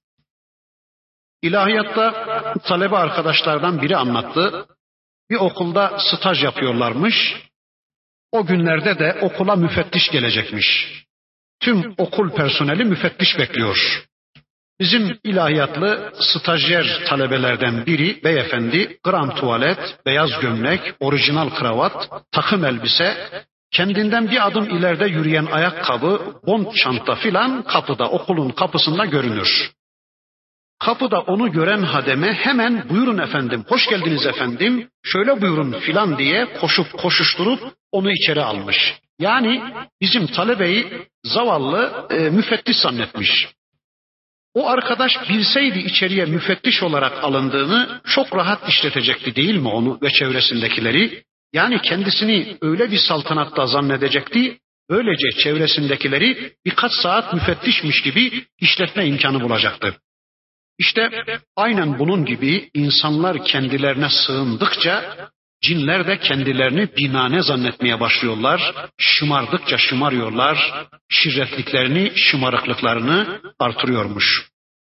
İlahiyatta talebe arkadaşlardan biri anlattı. Bir okulda staj yapıyorlarmış. O günlerde de okula müfettiş gelecekmiş. Tüm okul personeli müfettiş bekliyor. Bizim ilahiyatlı stajyer talebelerden biri beyefendi, grand tuvalet, beyaz gömlek, orijinal kravat, takım elbise, kendinden bir adım ileride yürüyen ayakkabı, bond çanta filan kapıda, okulun kapısında görünür. Kapıda onu gören hademe hemen buyurun efendim, hoş geldiniz efendim, şöyle buyurun filan diye koşup koşuşturup onu içeri almış. Yani bizim talebeyi zavallı e, müfettiş zannetmiş. O arkadaş bilseydi içeriye müfettiş olarak alındığını çok rahat işletecekti değil mi onu ve çevresindekileri? Yani kendisini öyle bir saltanatta zannedecekti, böylece çevresindekileri birkaç saat müfettişmiş gibi işletme imkanı bulacaktı. İşte aynen bunun gibi insanlar kendilerine sığındıkça cinler de kendilerini binane zannetmeye başlıyorlar. Şımardıkça şımarıyorlar. Şirretliklerini, şımarıklıklarını artırıyormuş.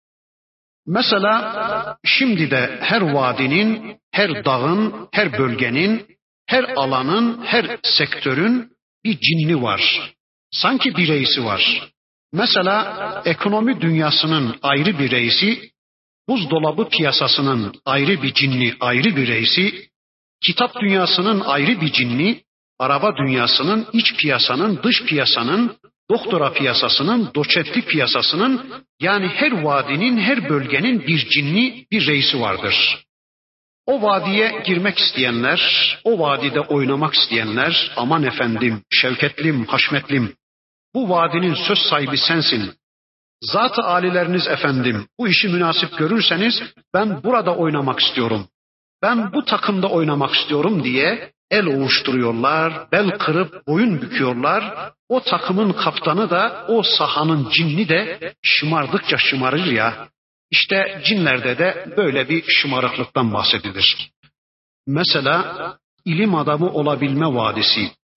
Mesela şimdi de her vadinin, her dağın, her bölgenin, her alanın, her sektörün bir cinni var. Sanki bir reisi var. Mesela ekonomi dünyasının ayrı bir reisi, buzdolabı piyasasının ayrı bir cinni, ayrı bir reisi, kitap dünyasının ayrı bir cinni, araba dünyasının, iç piyasanın, dış piyasanın, doktora piyasasının, doçentlik piyasasının, yani her vadinin, her bölgenin bir cinni, bir reisi vardır. O vadiye girmek isteyenler, o vadide oynamak isteyenler, aman efendim, şevketlim, haşmetlim, bu vadinin söz sahibi sensin. Zat-ı alileriniz efendim, bu işi münasip görürseniz ben burada oynamak istiyorum. Ben bu takımda oynamak istiyorum diye el ovuşturuyorlar, bel kırıp boyun büküyorlar. O takımın kaptanı da, o sahanın cinni de şımardıkça şımarır ya. İşte cinlerde de böyle bir şımarıklıktan bahsedilir. Mesela ilim adamı olabilme vadisi,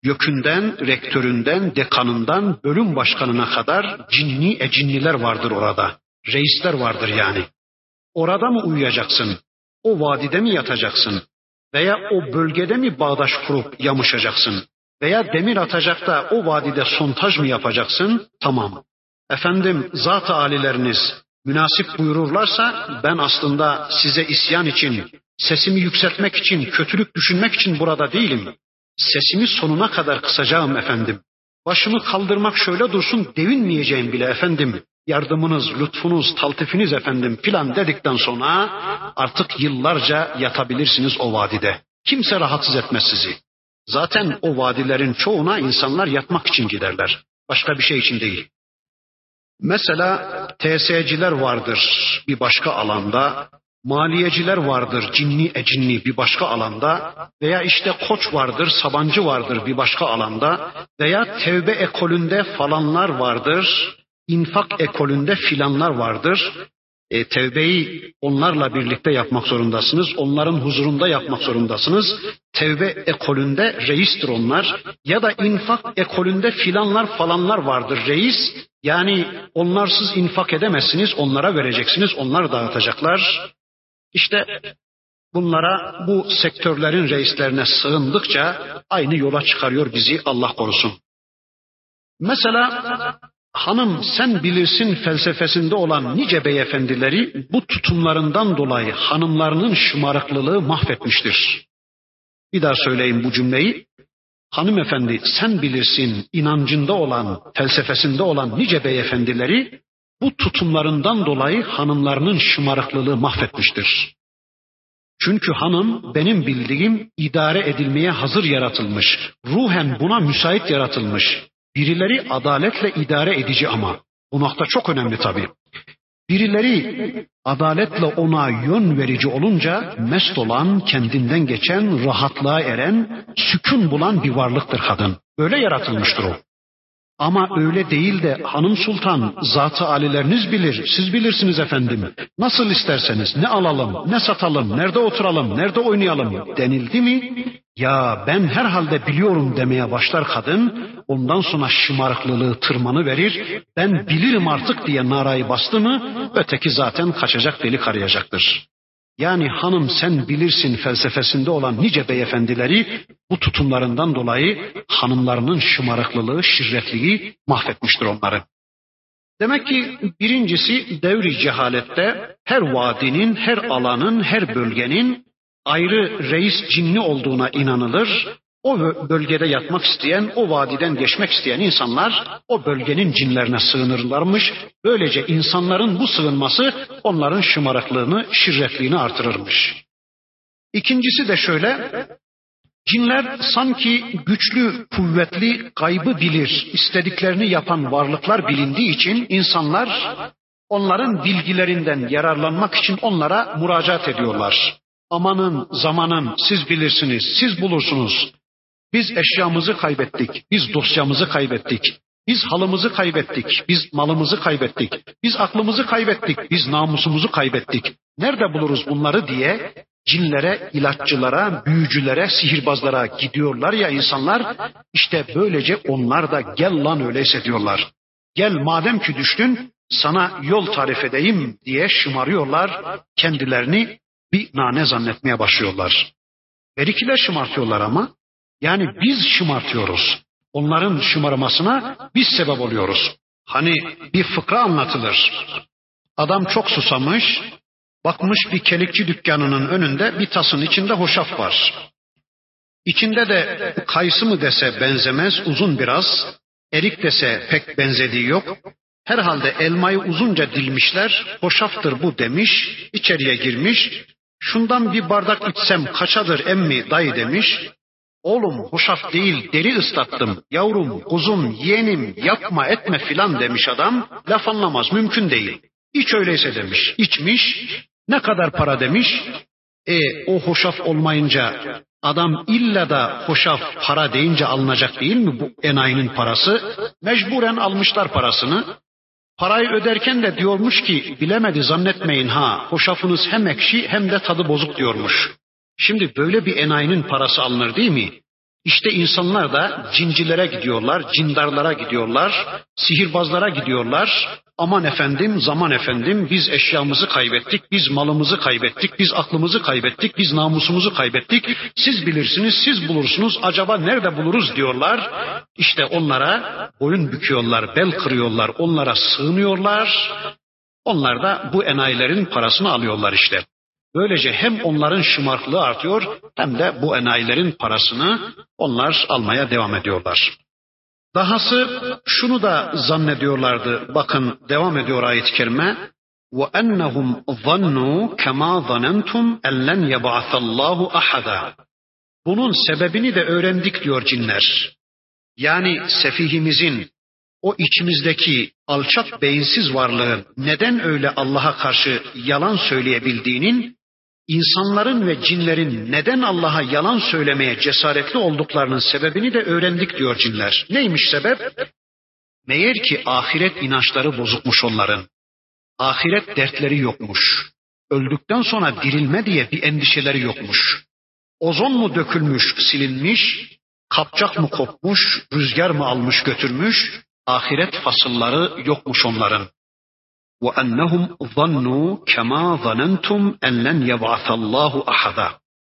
YÖK'ünden, rektöründen, dekanından, bölüm başkanına kadar cinni ecinniler vardır orada. Reisler vardır yani. Orada mı uyuyacaksın? O vadide mi yatacaksın? Veya o bölgede mi bağdaş kurup yamışacaksın? Veya demir atacak da o vadide sontaj mı yapacaksın? Tamam. Efendim zat-ı alileriniz münasip buyururlarsa ben aslında size isyan için, sesimi yükseltmek için, kötülük düşünmek için burada değilim. Sesimi sonuna kadar kısacağım efendim. Başımı kaldırmak şöyle dursun devinmeyeceğim bile efendim. Yardımınız, lütfunuz, taltifiniz efendim filan dedikten sonra artık yıllarca yatabilirsiniz o vadide. Kimse rahatsız etmez sizi. Zaten o vadilerin çoğuna insanlar yatmak için giderler. Başka bir şey için değil. Mesela T S'ciler vardır bir başka alanda, maliyeciler vardır cinni ecinni bir başka alanda veya işte koç vardır, Sabancı vardır bir başka alanda veya tevbe ekolünde falanlar vardır, infak ekolünde filanlar vardır. E, tevbeyi onlarla birlikte yapmak zorundasınız. Onların huzurunda yapmak zorundasınız. Tevbe ekolünde reistir onlar. Ya da infak ekolünde filanlar falanlar vardır reis. Yani onlarsız infak edemezsiniz. Onlara vereceksiniz. Onlar dağıtacaklar. İşte bunlara bu sektörlerin reislerine sığındıkça aynı yola çıkarıyor bizi Allah korusun. Mesela hanım sen bilirsin felsefesinde olan nice beyefendileri bu tutumlarından dolayı hanımlarının şımarıklılığı mahvetmiştir. Bir daha söyleyeyim bu cümleyi. Hanımefendi sen bilirsin inancında olan, felsefesinde olan nice beyefendileri bu tutumlarından dolayı hanımlarının şımarıklılığı mahvetmiştir. Çünkü hanım benim bildiğim idare edilmeye hazır yaratılmış, ruhen buna müsait yaratılmış. Birileri adaletle idare edici ama. Bu nokta çok önemli tabii. Birileri adaletle ona yön verici olunca mest olan, kendinden geçen, rahatlığa eren, sükun bulan bir varlıktır kadın. Öyle yaratılmıştır o. Ama öyle değil de hanım sultan, zat-ı alileriniz bilir, siz bilirsiniz efendim. Nasıl isterseniz ne alalım, ne satalım, nerede oturalım, nerede oynayalım denildi mi? Ya ben herhalde biliyorum demeye başlar kadın, ondan sonra şımarıklılığı tırmanı verir, ben bilirim artık diye narayı bastı mı, öteki zaten kaçacak delik arayacaktır. Yani hanım sen bilirsin felsefesinde olan nice beyefendileri bu tutumlarından dolayı hanımlarının şımarıklılığı, şirretliği mahvetmiştir onları. Demek ki birincisi devri cehalette her vadinin, her alanın, her bölgenin ayrı reis cinni olduğuna inanılır. O bölgede yatmak isteyen, o vadiden geçmek isteyen insanlar o bölgenin cinlerine sığınırlarmış. Böylece insanların bu sığınması onların şımarıklığını, şirretliğini artırırmış. İkincisi de şöyle, cinler sanki güçlü, kuvvetli, gaybı bilir, istediklerini yapan varlıklar bilindiği için insanlar onların bilgilerinden yararlanmak için onlara müracaat ediyorlar. Amanın, zamanın, siz bilirsiniz, siz bulursunuz. Biz eşyamızı kaybettik, biz dosyamızı kaybettik, biz halımızı kaybettik, biz malımızı kaybettik, biz aklımızı kaybettik, biz namusumuzu kaybettik. Nerede buluruz bunları diye cinlere, ilaççılara, büyücülere, sihirbazlara gidiyorlar ya insanlar. İşte böylece onlar da gel lan öyleyse diyorlar. Gel madem ki düştün sana yol tarif edeyim diye şımarıyorlar. Kendilerini bir nane zannetmeye başlıyorlar. Berikiler şımartıyorlar ama. Yani biz şımartıyoruz. Onların şımarmasına biz sebep oluyoruz. Hani bir fıkra anlatılır. Adam çok susamış, bakmış bir kelikçi dükkanının önünde bir tasın içinde hoşaf var. İçinde de kayısı mı dese benzemez, uzun biraz. Erik dese pek benzediği yok. Herhalde elmayı uzunca dilmişler, hoşaftır bu demiş, içeriye girmiş. Şundan bir bardak içsem kaçadır emmi dayı demiş. Oğlum hoşaf değil deri ıslattım, yavrum, kuzum, yeğenim yapma etme filan demiş adam. Laf anlamaz, mümkün değil. İç öyleyse demiş, içmiş. Ne kadar para demiş. E o hoşaf olmayınca adam illa da hoşaf para deyince alınacak değil mi bu enayinin parası? Mecburen almışlar parasını. Parayı öderken de diyormuş ki bilemedi zannetmeyin ha, hoşafınız hem ekşi hem de tadı bozuk diyormuş. Şimdi böyle bir enayinin parası alınır değil mi? İşte insanlar da cincilere gidiyorlar, cindarlara gidiyorlar, sihirbazlara gidiyorlar. Aman efendim, zaman efendim, biz eşyamızı kaybettik, biz malımızı kaybettik, biz aklımızı kaybettik, biz namusumuzu kaybettik. Siz bilirsiniz, siz bulursunuz, acaba nerede buluruz diyorlar. İşte onlara boyun büküyorlar, bel kırıyorlar, onlara sığınıyorlar. Onlar da bu enayilerin parasını alıyorlar işte. Böylece hem onların şımarıklığı artıyor hem de bu enayilerin parasını onlar almaya devam ediyorlar. Dahası şunu da zannediyorlardı. Bakın devam ediyor ayet-i kerime. وَاَنَّهُمْ ظَنُّوا كَمَا ظَنَنْتُمْ اَنْ لَنْ يَبْعَثَ اللّٰهُ أَحَدًا. Bunun sebebini de öğrendik diyor cinler. Yani sefihimizin, o içimizdeki alçak beyinsiz varlığın neden öyle Allah'a karşı yalan söyleyebildiğinin, insanların ve cinlerin neden Allah'a yalan söylemeye cesaretli olduklarının sebebini de öğrendik diyor cinler. Neymiş sebep? Meğer ki ahiret inançları bozukmuş onların. Ahiret dertleri yokmuş. Öldükten sonra dirilme diye bir endişeleri yokmuş. Ozon mu dökülmüş, silinmiş, kapçak mı kopmuş, rüzgar mı almış götürmüş, ahiret fasılları yokmuş onların. وَاَنَّهُمْ ظَنُّوا كَمَا ظَنَنْتُمْ اَنْ لَنْ يَبْعَثَ اللّٰهُ أَحَدًا.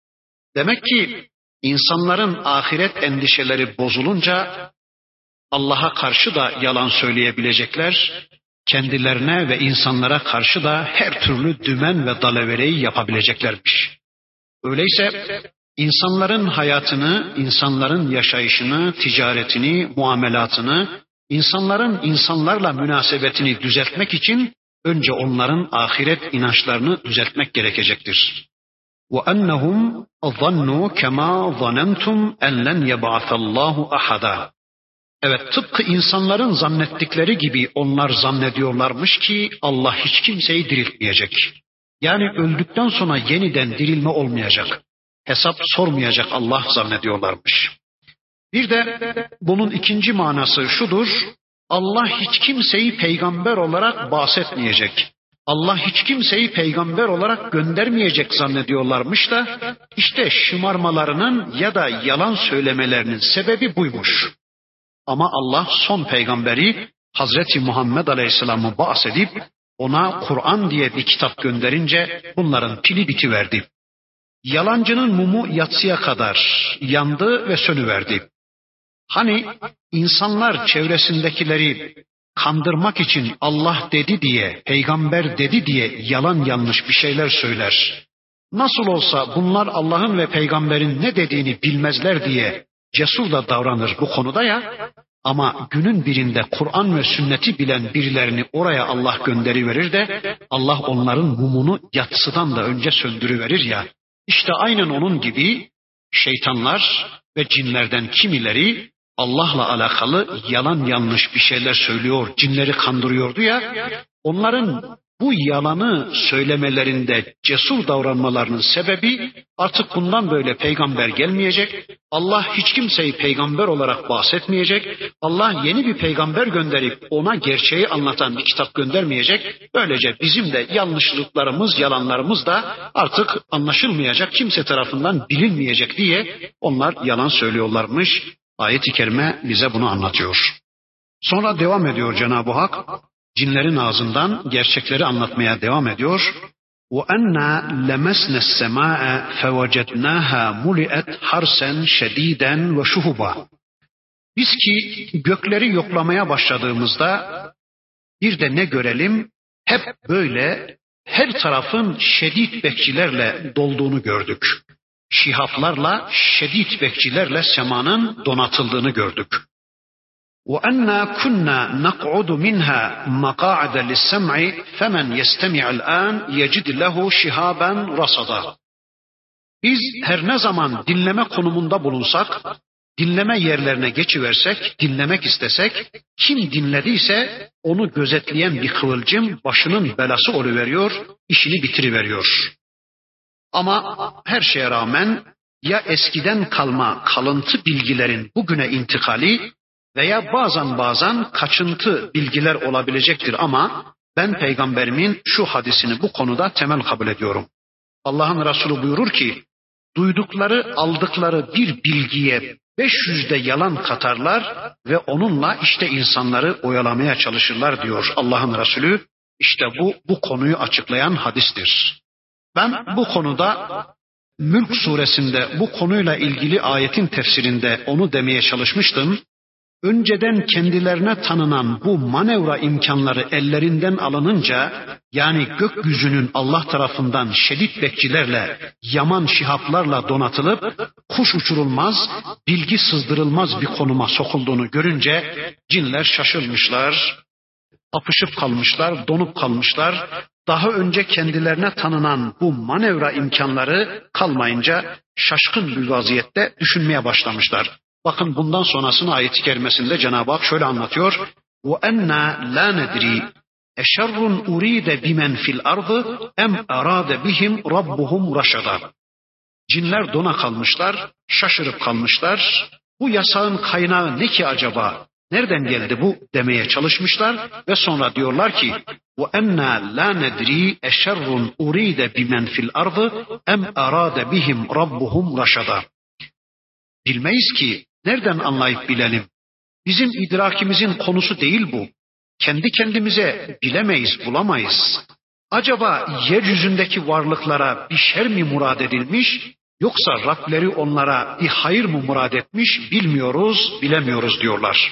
Demek ki insanların ahiret endişeleri bozulunca Allah'a karşı da yalan söyleyebilecekler, kendilerine ve insanlara karşı da her türlü dümen ve dalavereyi yapabileceklermiş. Öyleyse insanların hayatını, insanların yaşayışını, ticaretini, muamelatını, insanların insanlarla münasebetini düzeltmek için önce onların ahiret inançlarını düzeltmek gerekecektir. وَاَنَّهُمْ ظَنُّوا كَمَا ظَنَنْتُمْ اَنْ لَنْ يَبْعَثَ اللّٰهُ أَحَدًا. Evet, tıpkı insanların zannettikleri gibi onlar zannediyorlarmış ki Allah hiç kimseyi diriltmeyecek. Yani öldükten sonra yeniden dirilme olmayacak. Hesap sormayacak Allah zannediyorlarmış. Bir de bunun ikinci manası şudur. Allah hiç kimseyi peygamber olarak bahsetmeyecek. Allah hiç kimseyi peygamber olarak göndermeyecek zannediyorlarmış da işte şımarmalarının ya da yalan söylemelerinin sebebi buymuş. Ama Allah son peygamberi Hazreti Muhammed Aleyhisselam'ı bahsedip ona Kur'an diye bir kitap gönderince bunların pili bitiverdi. Yalancının mumu yatsıya kadar yandı ve sönüverdi. Hani insanlar çevresindekileri kandırmak için Allah dedi diye, peygamber dedi diye yalan yanlış bir şeyler söyler. Nasıl olsa bunlar Allah'ın ve peygamberin ne dediğini bilmezler diye cesur da davranır bu konuda ya. Ama günün birinde Kur'an ve sünneti bilen birilerini oraya Allah gönderiverir de Allah onların mumunu yatsıdan da önce söndürüverir ya. İşte aynen onun gibi şeytanlar ve cinlerden kimileri Allah'la alakalı yalan yanlış bir şeyler söylüyor, cinleri kandırıyordu ya. Onların bu yalanı söylemelerinde cesur davranmalarının sebebi artık bundan böyle peygamber gelmeyecek. Allah hiç kimseyi peygamber olarak bahsetmeyecek. Allah yeni bir peygamber gönderip ona gerçeği anlatan bir kitap göndermeyecek. Böylece bizim de yanlışlıklarımız, yalanlarımız da artık anlaşılmayacak, kimse tarafından bilinmeyecek diye onlar yalan söylüyorlarmış. Ayet-i kerime bize bunu anlatıyor. Sonra devam ediyor Cenab-ı Hak. Cinlerin ağzından gerçekleri anlatmaya devam ediyor. وَاَنَّا لَمَسْنَ السَّمَاءَ فَوَجَدْنَاهَا مُلِئَتْ حَرْسًا شَد۪يدًا وَشُهُبًا. Biz ki gökleri yoklamaya başladığımızda bir de ne görelim? Hep böyle her tarafın şedid bekçilerle dolduğunu gördük. Şihaplarla, şedid bekçilerle semanın donatıldığını gördük. وَأَنَّا كُنَّا نَقْعُدُ مِنْهَا مَقَاعِدَ لِلسَّمْعِ فَمَنْ يَسْتَمِعَ الْآنِ يَجِدْ لَهُ شِهَابًا رَصَدًا. Biz her ne zaman dinleme konumunda bulunsak, dinleme yerlerine geçiversek, dinlemek istesek, kim dinlediyse onu gözetleyen bir kıvılcım başının belası oluveriyor, işini bitiriveriyor. Ama her şeye rağmen ya eskiden kalma kalıntı bilgilerin bugüne intikali veya bazen bazen kaçıntı bilgiler olabilecektir ama ben peygamberimin şu hadisini bu konuda temel kabul ediyorum. Allah'ın Resulü buyurur ki, duydukları, aldıkları bir bilgiye beş yüzde yalan katarlar ve onunla işte insanları oyalamaya çalışırlar diyor Allah'ın Resulü. İşte bu bu konuyu açıklayan hadistir. Ben bu konuda Mülk suresinde bu konuyla ilgili ayetin tefsirinde onu demeye çalışmıştım. Önceden kendilerine tanınan bu manevra imkanları ellerinden alınınca, yani gökyüzünün Allah tarafından şedid bekçilerle, yaman şihaplarla donatılıp kuş uçurulmaz, bilgi sızdırılmaz bir konuma sokulduğunu görünce cinler şaşırmışlar, apışıp kalmışlar, donup kalmışlar. Daha önce kendilerine tanınan bu manevra imkanları kalmayınca şaşkın bir vaziyette düşünmeye başlamışlar. Bakın bundan sonrasını ayet-i kerimesinde Cenab-ı Hak şöyle anlatıyor. وَاَنَّا لَا نَدْرِي اَشَرٌ اُرِيدَ بِمَنْ فِي الْأَرْضِ اَمْ اَرَادَ بِهِمْ رَبُّهُمْ رَشَدًا. Cinler dona kalmışlar, şaşırıp kalmışlar. Bu yasağın kaynağı ne ki acaba? Nereden geldi bu demeye çalışmışlar ve sonra diyorlar ki وَاَنَّا لَا نَدْرِي اَشَرٌ اُرِيدَ بِمَنْ فِي الْأَرْضِ اَمْ اَرَادَ بِهِمْ رَبُّهُمْ رَشَدًا. Bilmeyiz ki, nereden anlayıp bilelim? Bizim idrakimizin konusu değil bu. Kendi kendimize bilemeyiz, bulamayız. Acaba yeryüzündeki varlıklara bir şer mi murad edilmiş, yoksa Rableri onlara bir hayır mı murad etmiş, bilmiyoruz, bilemiyoruz diyorlar.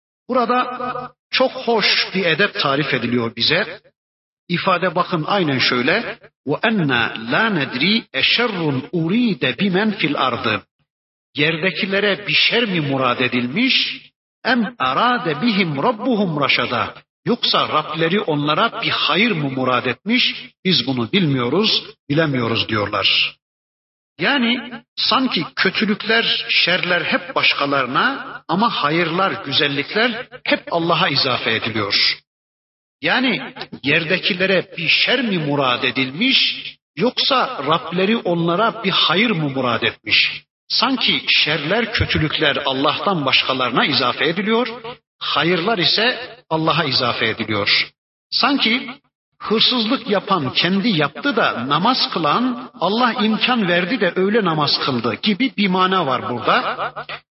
Burada çok hoş bir edep tarif ediliyor bize. İfade bakın aynen şöyle. وَاَنَّا لَا نَدْرِي اَشَرٌ اُرِيدَ بِمَنْ فِي الْأَرْضِ. Yerdekilere bir şer mi murad edilmiş? Em arade bihim rabbuhum raşada. Yoksa Rableri onlara bir hayır mı murad etmiş? Biz bunu bilmiyoruz, bilemiyoruz diyorlar. Yani sanki kötülükler, şerler hep başkalarına ama hayırlar, güzellikler hep Allah'a izafe ediliyor. Yani yerdekilere bir şer mi murad edilmiş? Yoksa Rableri onlara bir hayır mı murad etmiş? Sanki şerler, kötülükler Allah'tan başkalarına izafe ediliyor, hayırlar ise Allah'a izafe ediliyor. Sanki hırsızlık yapan kendi yaptı da namaz kılan Allah imkan verdi de öyle namaz kıldı gibi bir mana var burada.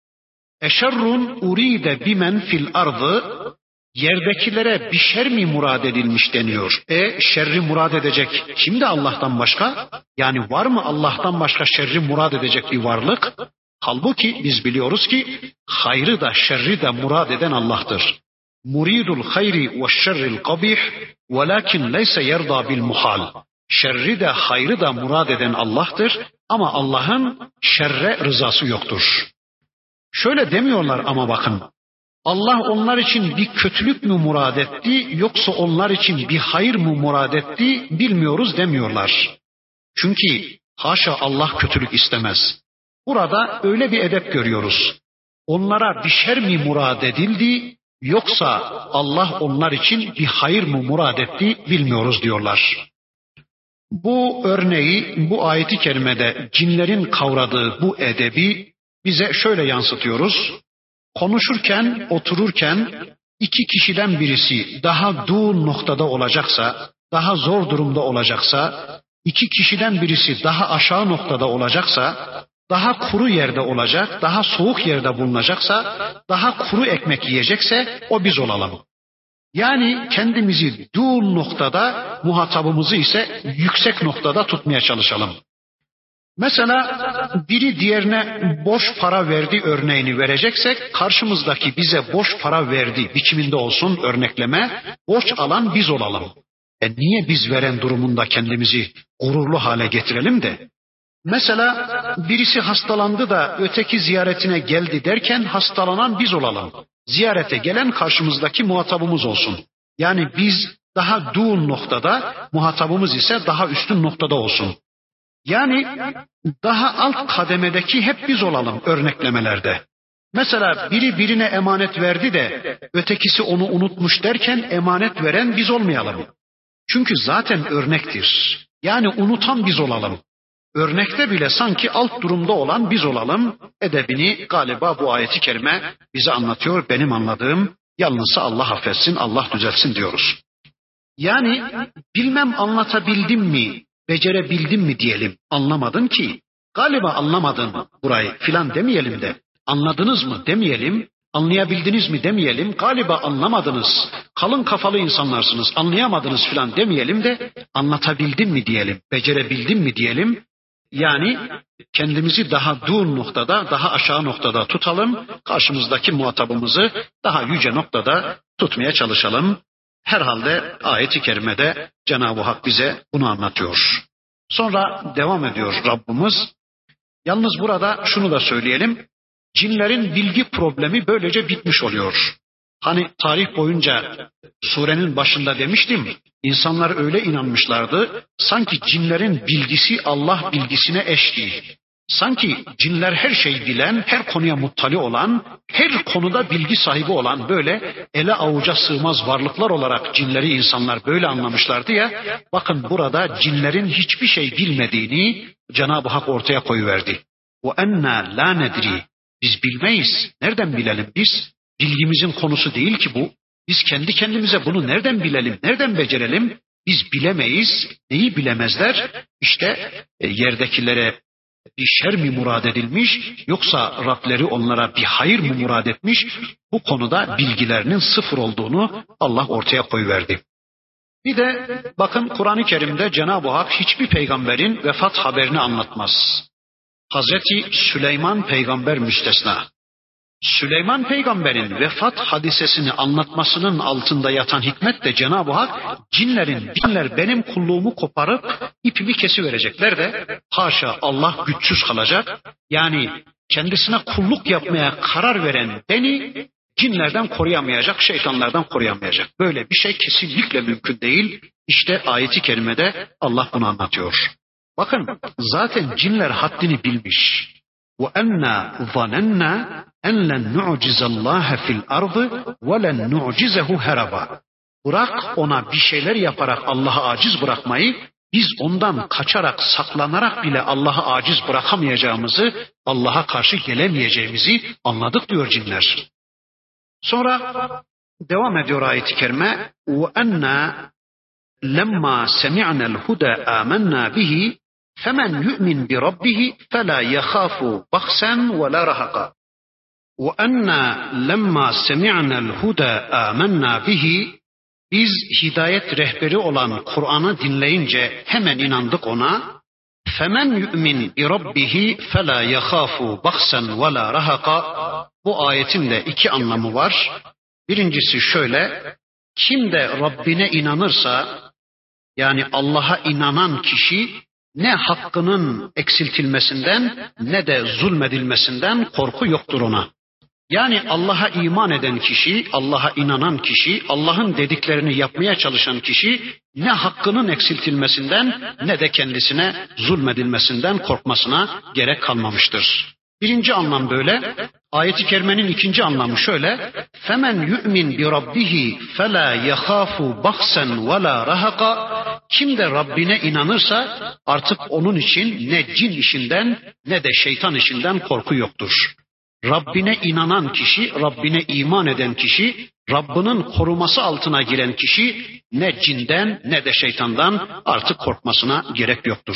Eşerrun uride bimen fil ardı. Yerdekilere bir şer mi murad edilmiş deniyor. E şerri murad edecek kim de Allah'tan başka? Yani var mı Allah'tan başka şerri murad edecek bir varlık? Halbuki biz biliyoruz ki hayrı da şerri de murad eden Allah'tır. Muridul hayri ve şerril kabih velakin leyse yerda bil muhal. Şerri de hayrı da murad eden Allah'tır ama Allah'ın şerre rızası yoktur. Şöyle demiyorlar ama bakın. Allah onlar için bir kötülük mü murad etti yoksa onlar için bir hayır mı murad etti bilmiyoruz demiyorlar. Çünkü haşa Allah kötülük istemez. Burada öyle bir edep görüyoruz. Onlara bir şer mi murad edildi yoksa Allah onlar için bir hayır mı murad etti bilmiyoruz diyorlar. Bu örneği bu ayeti kerimede cinlerin kavradığı bu edebi bize şöyle yansıtıyoruz. Konuşurken, otururken iki kişiden birisi daha duğun noktada olacaksa, daha zor durumda olacaksa, iki kişiden birisi daha aşağı noktada olacaksa, daha kuru yerde olacak, daha soğuk yerde bulunacaksa, daha kuru ekmek yiyecekse o biz olalım. Yani kendimizi duğun noktada, muhatabımızı ise yüksek noktada tutmaya çalışalım. Mesela biri diğerine boş para verdi örneğini vereceksek karşımızdaki bize boş para verdi biçiminde olsun örnekleme, borç alan biz olalım. E niye biz veren durumunda kendimizi gururlu hale getirelim de? Mesela birisi hastalandı da öteki ziyaretine geldi derken hastalanan biz olalım. Ziyarete gelen karşımızdaki muhatabımız olsun. Yani biz daha duğun noktada, muhatabımız ise daha üstün noktada olsun. Yani daha alt kademedeki hep biz olalım örneklemelerde. Mesela biri birine emanet verdi de ötekisi onu unutmuş derken emanet veren biz olmayalım. Çünkü zaten örnektir. Yani unutan biz olalım. Örnekte bile sanki alt durumda olan biz olalım. Edebini galiba bu ayeti kerime bize anlatıyor. Benim anladığım yalnızsa Allah affetsin, Allah düzeltsin diyoruz. Yani bilmem anlatabildim mi? Becerebildim mi diyelim, anlamadın ki, galiba anlamadın burayı filan demeyelim de, anladınız mı demeyelim, anlayabildiniz mi demeyelim, galiba anlamadınız, kalın kafalı insanlarsınız, anlayamadınız filan demeyelim de anlatabildim mi diyelim, becerebildim mi diyelim. Yani kendimizi daha dur noktada, daha aşağı noktada tutalım, karşımızdaki muhatabımızı daha yüce noktada tutmaya çalışalım. Herhalde ayet-i kerimede Cenab-ı Hak bize bunu anlatıyor. Sonra devam ediyor Rabbimiz. Yalnız burada şunu da söyleyelim. Cinlerin bilgi problemi böylece bitmiş oluyor. Hani tarih boyunca surenin başında demiştim, insanlar öyle inanmışlardı, sanki cinlerin bilgisi Allah bilgisine eş değil. Sanki cinler her şeyi bilen, her konuya muttali olan, her konuda bilgi sahibi olan böyle ele avuca sığmaz varlıklar olarak cinleri insanlar böyle anlamışlardı ya. Bakın burada cinlerin hiçbir şey bilmediğini Cenab-ı Hak ortaya koyuverdi. وَاَنَّا لَا نَدْرِي Biz bilmeyiz. Nereden bilelim biz? Bilgimizin konusu değil ki bu. Biz kendi kendimize bunu nereden bilelim, nereden becerelim? Biz bilemeyiz. Neyi bilemezler? İşte e, yerdekilere bir şer mi murad edilmiş, yoksa Rableri onlara bir hayır mı murad etmiş? Bu konuda bilgilerinin sıfır olduğunu Allah ortaya koyuverdi. Bir de bakın Kur'an-ı Kerim'de Cenab-ı Hak hiçbir peygamberin vefat haberini anlatmaz. Hazreti Süleyman peygamber müstesna. Süleyman peygamberin vefat hadisesini anlatmasının altında yatan hikmet de Cenab-ı Hak cinlerin, cinler benim kulluğumu koparıp ipimi kesiverecekler de haşa Allah güçsüz kalacak. Yani kendisine kulluk yapmaya karar veren beni cinlerden koruyamayacak, şeytanlardan koruyamayacak. Böyle bir şey kesinlikle mümkün değil. İşte ayeti kerimede Allah bunu anlatıyor. Bakın zaten cinler haddini bilmiş. وَاَنَّا ظَنَنَّا اَنْ لَنْ نُعْجِزَ اللّٰهَ فِي الْأَرْضِ وَلَنْ نُعْجِزَهُ هَرَبًا Bırak ona bir şeyler yaparak Allah'ı aciz bırakmayı, biz ondan kaçarak, saklanarak bile Allah'ı aciz bırakamayacağımızı, Allah'a karşı gelemeyeceğimizi anladık diyor cinler. Sonra devam ediyor ayet-i kerime. وَاَنَّا لَمَّا سَمِعْنَا الْهُدَى آمَنَّا بِهِ فَمَنْ يُؤْمِنْ بِرَبِّهِ فَلَا يَخَافُ بَخْسًا وَلَا رَهَقًا وَاَنَّا لَمَّا سَمِعْنَا الْهُدَى آمَنَّا بِهِ Biz hidayet rehberi olan Kur'an'ı dinleyince hemen inandık ona. فَمَنْ يُؤْمِنْ بِرَبِّهِ فَلَا يَخَافُ بَخْسًا وَلَا رَهَقًا Bu ayetin de iki anlamı var. Birincisi şöyle, kim de Rabbine inanırsa, yani Allah'a inanan kişi, ne hakkının eksiltilmesinden ne de zulmedilmesinden korku yoktur ona. Yani Allah'a iman eden kişi, Allah'a inanan kişi, Allah'ın dediklerini yapmaya çalışan kişi ne hakkının eksiltilmesinden ne de kendisine zulmedilmesinden korkmasına gerek kalmamıştır. Birinci anlam böyle. Ayet-i kerimenin ikinci anlamı şöyle. فَمَنْ يُؤْمِنْ بِرَبِّهِ فَلَا يَخَافُ بَخْسًا وَلَا رَهَقًا Kim de Rabbine inanırsa artık onun için ne cin işinden ne de şeytan işinden korku yoktur. Rabbine inanan kişi, Rabbine iman eden kişi, Rabbinin koruması altına giren kişi ne cinden ne de şeytandan artık korkmasına gerek yoktur.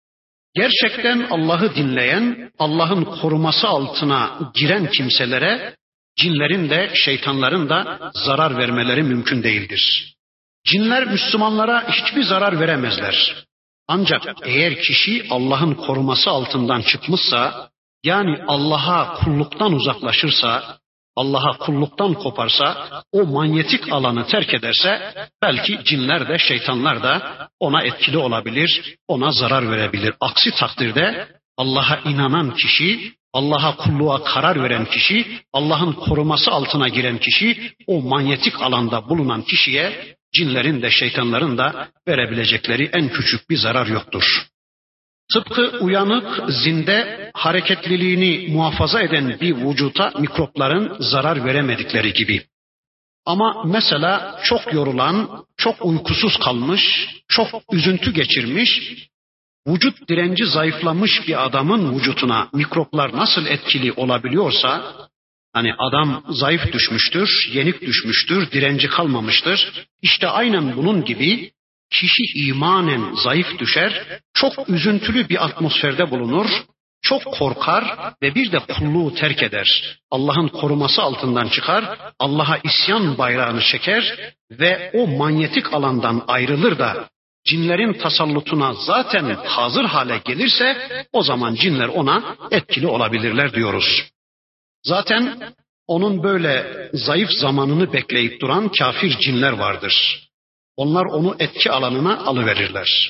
Gerçekten Allah'ı dinleyen, Allah'ın koruması altına giren kimselere cinlerin de şeytanların da zarar vermeleri mümkün değildir. Cinler Müslümanlara hiçbir zarar veremezler. Ancak eğer kişi Allah'ın koruması altından çıkmışsa, yani Allah'a kulluktan uzaklaşırsa, Allah'a kulluktan koparsa, o manyetik alanı terk ederse, belki cinler de şeytanlar da ona etkili olabilir, ona zarar verebilir. Aksi takdirde Allah'a inanan kişi, Allah'a kulluğa karar veren kişi, Allah'ın koruması altına giren kişi, o manyetik alanda bulunan kişiye cinlerin de şeytanların da verebilecekleri en küçük bir zarar yoktur. Tıpkı uyanık, zinde, hareketliliğini muhafaza eden bir vücuta mikropların zarar veremedikleri gibi. Ama mesela çok yorulan, çok uykusuz kalmış, çok üzüntü geçirmiş, vücut direnci zayıflamış bir adamın vücuduna mikroplar nasıl etkili olabiliyorsa, hani adam zayıf düşmüştür, yenik düşmüştür, direnci kalmamıştır. İşte aynen bunun gibi kişi imanen zayıf düşer, çok üzüntülü bir atmosferde bulunur, çok korkar ve bir de kulluğu terk eder. Allah'ın koruması altından çıkar, Allah'a isyan bayrağını çeker ve o manyetik alandan ayrılır da cinlerin tasallutuna zaten hazır hale gelirse o zaman cinler ona etkili olabilirler diyoruz. Zaten onun böyle zayıf zamanını bekleyip duran kafir cinler vardır. Onlar onu etki alanına alıverirler.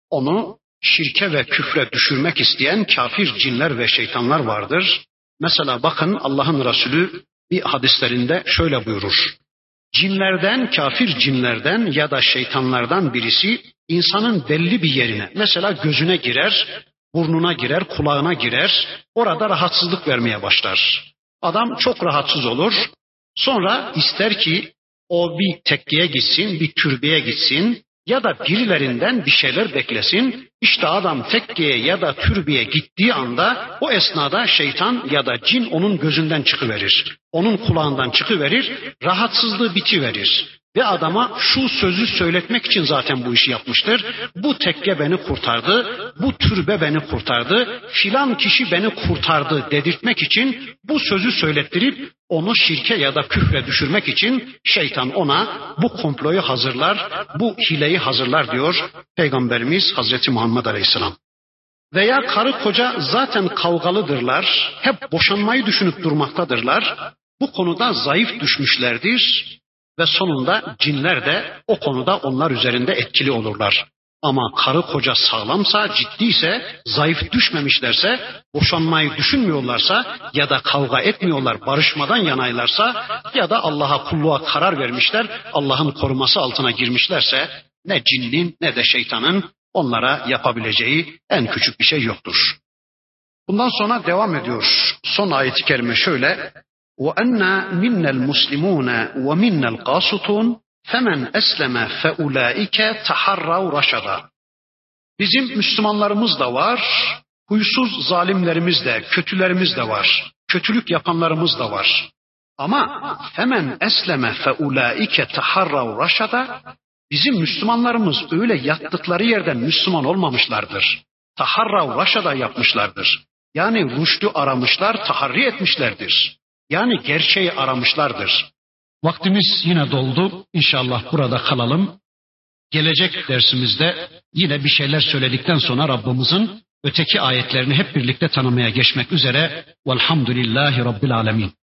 Onu şirke ve küfre düşürmek isteyen kafir cinler ve şeytanlar vardır. Mesela bakın Allah'ın Resulü bir hadislerinde şöyle buyurur. Cinlerden, kafir cinlerden ya da şeytanlardan birisi insanın belli bir yerine, mesela gözüne girer, burnuna girer, kulağına girer, orada rahatsızlık vermeye başlar. Adam çok rahatsız olur. Sonra ister ki o bir tekkeye gitsin, bir türbeye gitsin ya da birilerinden bir şeyler beklesin. İşte adam tekkeye ya da türbeye gittiği anda o esnada şeytan ya da cin onun gözünden çıkıverir. Onun kulağından çıkıverir, rahatsızlığı bitiverir. Ve adama şu sözü söyletmek için zaten bu işi yapmıştır. Bu tekke beni kurtardı, bu türbe beni kurtardı, filan kişi beni kurtardı dedirtmek için bu sözü söylettirip onu şirke ya da küfre düşürmek için şeytan ona bu komployu hazırlar, bu hileyi hazırlar diyor Peygamberimiz Hazreti Muhammed Aleyhisselam. Veya karı koca zaten kavgalıdırlar, hep boşanmayı düşünüp durmaktadırlar. Bu konuda zayıf düşmüşlerdir. Ve sonunda cinler de o konuda onlar üzerinde etkili olurlar. Ama karı koca sağlamsa, ciddiyse, zayıf düşmemişlerse, boşanmayı düşünmüyorlarsa ya da kavga etmiyorlar, barışmadan yanaylarsa ya da Allah'a kulluğa karar vermişler, Allah'ın koruması altına girmişlerse ne cinnin ne de şeytanın onlara yapabileceği en küçük bir şey yoktur. Bundan sonra devam ediyor. Son ayet-i kerime şöyle: وَأَنَّا مِنَّا الْمُسْلِمُونَ وَمِنَّا الْقَاسِطُونَ فَمَنْ أَسْلَمَ فَأُولَٰئِكَ تَحَرَّوْا رَشَدًا. Bizim Müslümanlarımız da var, huysuz zalimlerimiz de, kötülerimiz de var, kötülük yapanlarımız da var. Ama فَمَنْ أَسْلَمَ فَأُولَٰئِكَ تَحَرَّوْا رَشَدًا. Bizim Müslümanlarımız öyle yattıkları yerden Müslüman olmamışlardır. Taharrav raşada yapmışlardır. Yani rüştü aramışlar, taharri etmişlerdir. Yani gerçeği aramışlardır. Vaktimiz yine doldu. İnşallah burada kalalım. Gelecek dersimizde yine bir şeyler söyledikten sonra Rabbimizin öteki ayetlerini hep birlikte tanımaya geçmek üzere. Velhamdülillahi Rabbil Alemin.